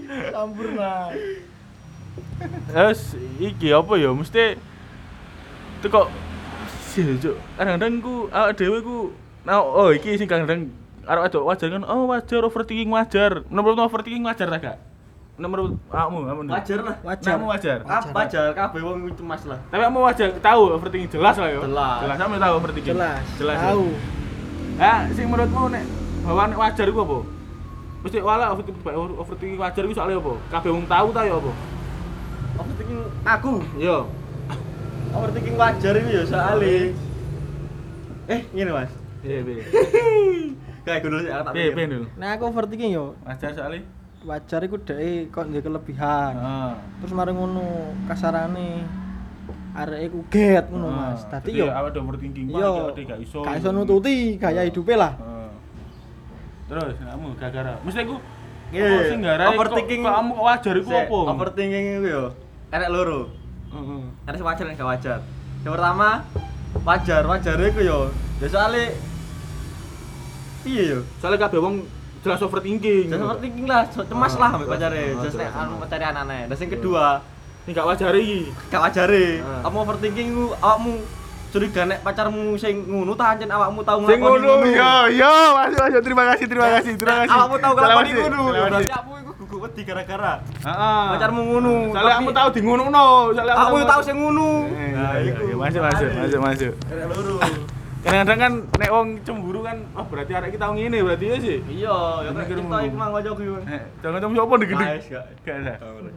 Sempurna. Terus iki apa ya mesti teko sih cuk. Kadang-kadang ku awake dhewe ku nah, oh iki sing kadang arek wedok wajar kan. Oh, wajar overthinking wajar. Menurutmu overthinking wajar ta gak? Menurut kamu, kamu. Wajar lah. Wajar. Kamu wajar. Wajar, wajar kabeh wong cemas lah. Tapi kamu wajar tahu overthinking jelas lah yo. Jelas. Jelas kamu tahu overthinking. Jelas. Jelas. Tahu. Ya, sing menurutmu nek bahwa nek wajar iku apa? Mesti wala overthinking overthinking wajar iku soalnya apa? Kabeh wong tahu ta yo apa? Overthinking aku. Yo. Overthinking wajar itu ya soalnya. Eh, ngene Mas. Iya, piye. Kayak gue dulu sih, aku tak Piye, pikir. piye dulu. Nah, aku overthinking yo. Wajar soalnya. Wajar iku dhek kok ndek kelebihan. Heeh. Terus mari ngono kasarane areke ku get ngono Mas. Dadi yo awake dhewe overthinking yo Pak, gak iso. gak iso nututi gaya hidupe lah. Heeh. Terus kamu gara-gara. Mesti aku Iya, apa sing garai overthinking. kok kamu wajar iku Sik, apa? Overthinking itu yo. Enek loro. Heeh. Enek sing wajar dan gak wajar. Yang pertama, wajar, wajar iku yo. Ya soalnya iya yo. Soalnya kabeh wong jelas overthinking. Jangan overthinking lah, so- cemas lah ambek Ah, pacare. ah, Terus nek jelas. anu pacare anane. Dan sing kedua, Ini gak wajar iki. gak wajare. Ah. Kamu overthinking ku awakmu curiga nek pacarmu sing ngono ta ancen awakmu tau Sing nglakoni ngono yo yo masuk masuk terima kasih terima kasih terima kasih. Awakmu tau nglakoni Terima kasih, ngono. terima Berarti kasih. aku iku gugu wedi gara-gara Heeh. pacarmu ngono. Soalnya Tapi kamu tahu di ngono-ngono, soalnya aku tau sing ngono. Nah, iku. Masuk masuk masuk masuk. Enek loro. Kadang-kadang kan nek wong cemburu kan, oh berarti arek kita ngene berarti ya sih. Iya, ya Mikir kita ngono. iku mang ojo ku. Eh, jangan cemburu apa nih gede. Guys, gak. Gak ada. Ora.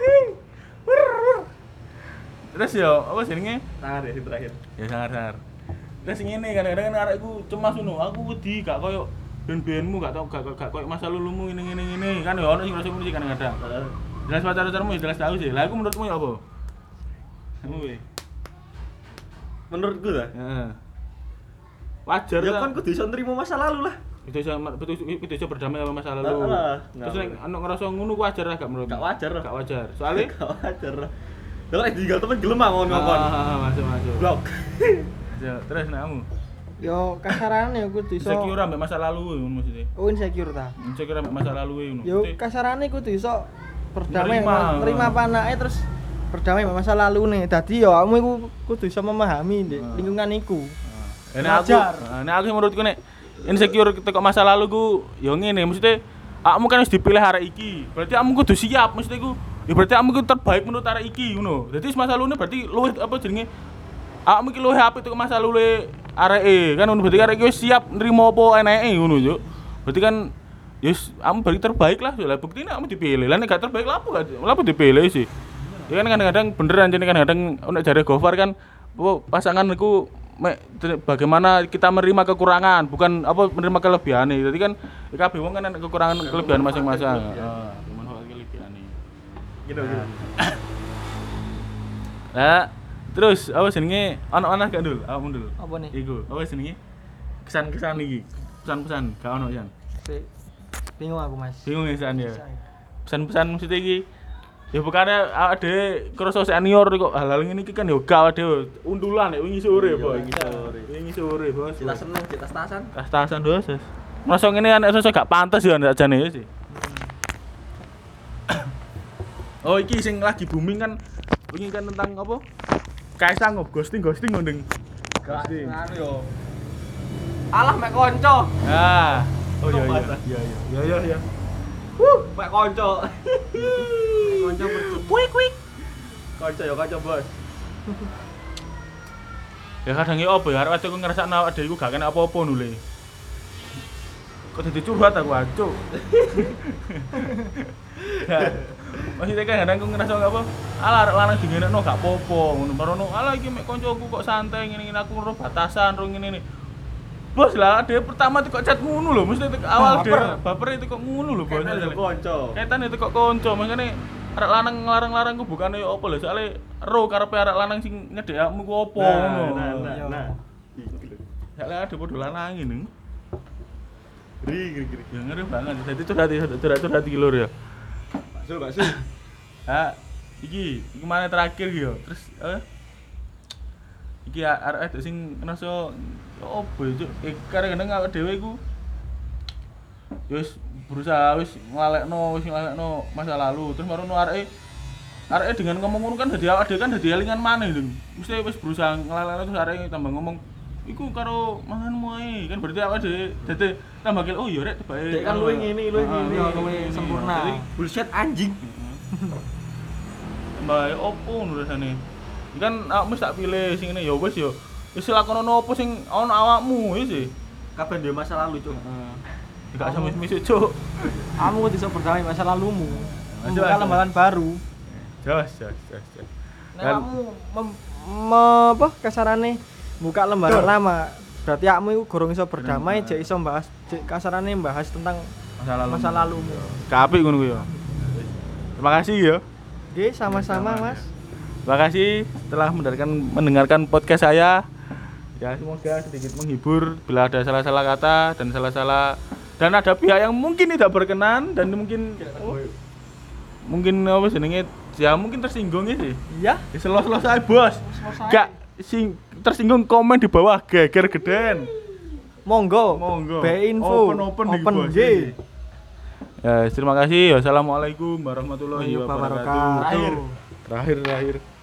Terus yo, apa jenenge? Tangan deh sing terakhir. Ya sangar-sangar. Terus ngene kadang-kadang kan arekku cemas ngono, aku wedi gak koyo ben-benmu gak tau gak gak koyo masa lulumu ngene ngene ngene kan yo ono sing rasa ngono sih kadang-kadang. Jelas pacar-pacarmu ya jelas tahu sih. Lah aku menurutmu ya apa? Kamu we. Menurutku lah. Heeh. Wajar Ya ta? kan kudu iso nrimo masa lalu lah. Itu bisa itu itu bisa berdamai sama masa lalu. Lah, lah. Terus nek ono ngerasa ngono ku wajar lah gak menurutmu? Gak wajar lah. Gak wajar. Soalnya Gak wajar lah. Lah nek ditinggal temen gelem ah ngomong-ngomong. Ah, masuk masuk. Blok. Ya, terus nek kamu Yo kasarane yo kudu iso insecure ambek masa lalu ngono maksudnya. oh insecure ta. Insecure ambek masa lalu ngono. Yo Maksudnya, kasarane kudu iso berdamai Nerima. nerima panake terus berdamai sama masa lalu nih. Dadi yo kamu iku kudu iso memahami ndek Ah. lingkungan iku. Nah, nek aku, Wajar. nah, nek aku menurutku nek insecure teko masa lalu ku yo ngene, maksudnya kamu kan wis dipilih arek iki. Berarti kamu kudu siap, maksudnya ku ya berarti kamu ku terbaik menurut arek iki ngono. Dadi masa lalu berarti luwih apa jenenge? Kamu iki luwih apik teko masa lalu areke kan ngono berarti arek iki wis siap nrimo apa eneke ngono yo. Berarti kan yes, kamu berarti terbaik lah. Lah buktinya kamu dipilih. Lah nek gak terbaik lah apa gak lah apa dipilih sih. Ya kan kadang-kadang beneran jadi kadang-kadang nek jare Gofar kan apa pasangan iku mek bagaimana kita menerima kekurangan bukan apa menerima kelebihane. Jadi kan kabeh wong kan ana kekurangan kelebihan masing-masing. Heeh, memanfaatkan kelebihane. Gitu gitu. Lah terus apa jenenge ana-ana gak Dul? Awakmu Dul. Apa nih? Iku, apa jenenge? Kesan-kesan iki. Pesan-pesan gak ono Yan. Sik. Bingung aku, Mas. Bingung ya San ya. Pesan-pesan mesti iki ya bukannya awake dhewe krasa senior kok hal-hal ngene iki kan ya gak awake dhewe undulan nek wingi sore, Boy. wingi sore. Wingi sore, Bos. Kita seneng, kita tasan. Tas-tasan dosa. Masa ngene anak sosok gak pantes ya ndak jane ya sih. Oh iki sing lagi booming kan wingi kan tentang apa? Kaisang ngop ghosting ghosting ngondeng. Ghosting. Anu yo. Alah mek konco. Ah. Oh iya iya. Bahasa. Iya iya. Iya iya iya. Wuh, mek konco. Konco bercu. Kuik kuik. Konco yo konco, Bos. Ya kadang ya apa ya arek aku ngrasakno awake dhewe iku gak kena apa-apa nule. Kok dadi curhat aku ancuk. Ya. Maksudnya kan kadang aku ngerasa apa? Alah arek lanang dingenekno gak apa-apa ngono. Marono alah iki mek koncoku kok santai ngene-ngene aku ro batasan ro ngene-ngene. Bos lah, dia pertama tuh kok chat ngono lho, mesti tek awal dia baper itu kok ngono lho, bos. Kaitan yo konco. Kaitan itu kok konco, makane arek lanang nglarang-larang ku bukane yo apa lho, soalnya ro karepe arek lanang sing nyedhekmu ku apa ngono. Nah, nah, Iya. nah. Iki lho. Soalnya ada podo lanang ini. Gri gri gri. Ya ngeri banget. Jadi itu hati curhat-curhat iki lho ya. Bakso, bakso. Ha, iki, iki mana terakhir iki yo. Terus eh iki arek sing ngerasa opo yo, eh kadang-kadang awake dhewe iku ya wis berusaha wis nglalekno, wis nglalekno masa lalu. Terus marono areke arek dengan ngomong ngono kan dadi awake dhewe kan dadi elingan maneh lho. Mesti wis berusaha ngelalekno terus arek tambah ngomong iku karo manganmu ae. Kan berarti awake dhewe dadi tambah kil oh ya rek tebake. Dek kan luwih ngene, luwih ngene, luwih sempurna. Jadi Bullshit anjing. mbak opo ngono rasane. Iki kan awakmu wis tak pilih sing ngene ya wis ya. Wis lakonono opo sing ana awakmu wis sih. Kabeh duwe masa lalu, Cuk. Heeh. Gak sama misuk cuk. Kamu kudu iso berdamai masa lalumu. Jelas, Membuka jelas. lembaran baru. Jos jos jos. jos. Nek Dan- kamu mem- me- apa kasarane buka lembaran Betul. lama, berarti kamu iku gorong iso berdamai, jek iso mbahas jek kasarane mbahas tentang Masa lalu. masa lalumu. Kapik ngono ku ya. Terima kasih ya. Oke, sama-sama, Mas. Terima kasih telah mendengarkan mendengarkan podcast saya. Ya semoga sedikit menghibur bila ada salah-salah kata dan salah-salah dan ada pihak yang mungkin tidak berkenan dan mungkin oh, mungkin apa jenenge ya mungkin tersinggung ya sih. Iya. Ya selo-selo saya bos. Gak sing tersinggung komen di bawah geger geden. Monggo. Monggo. Be info. Open open, nih, open bos. G. Ya terima kasih. Wassalamualaikum warahmatullahi Wassalamualaikum wabarakatuh. warahmatullahi wabarakatuh. Terakhir terakhir.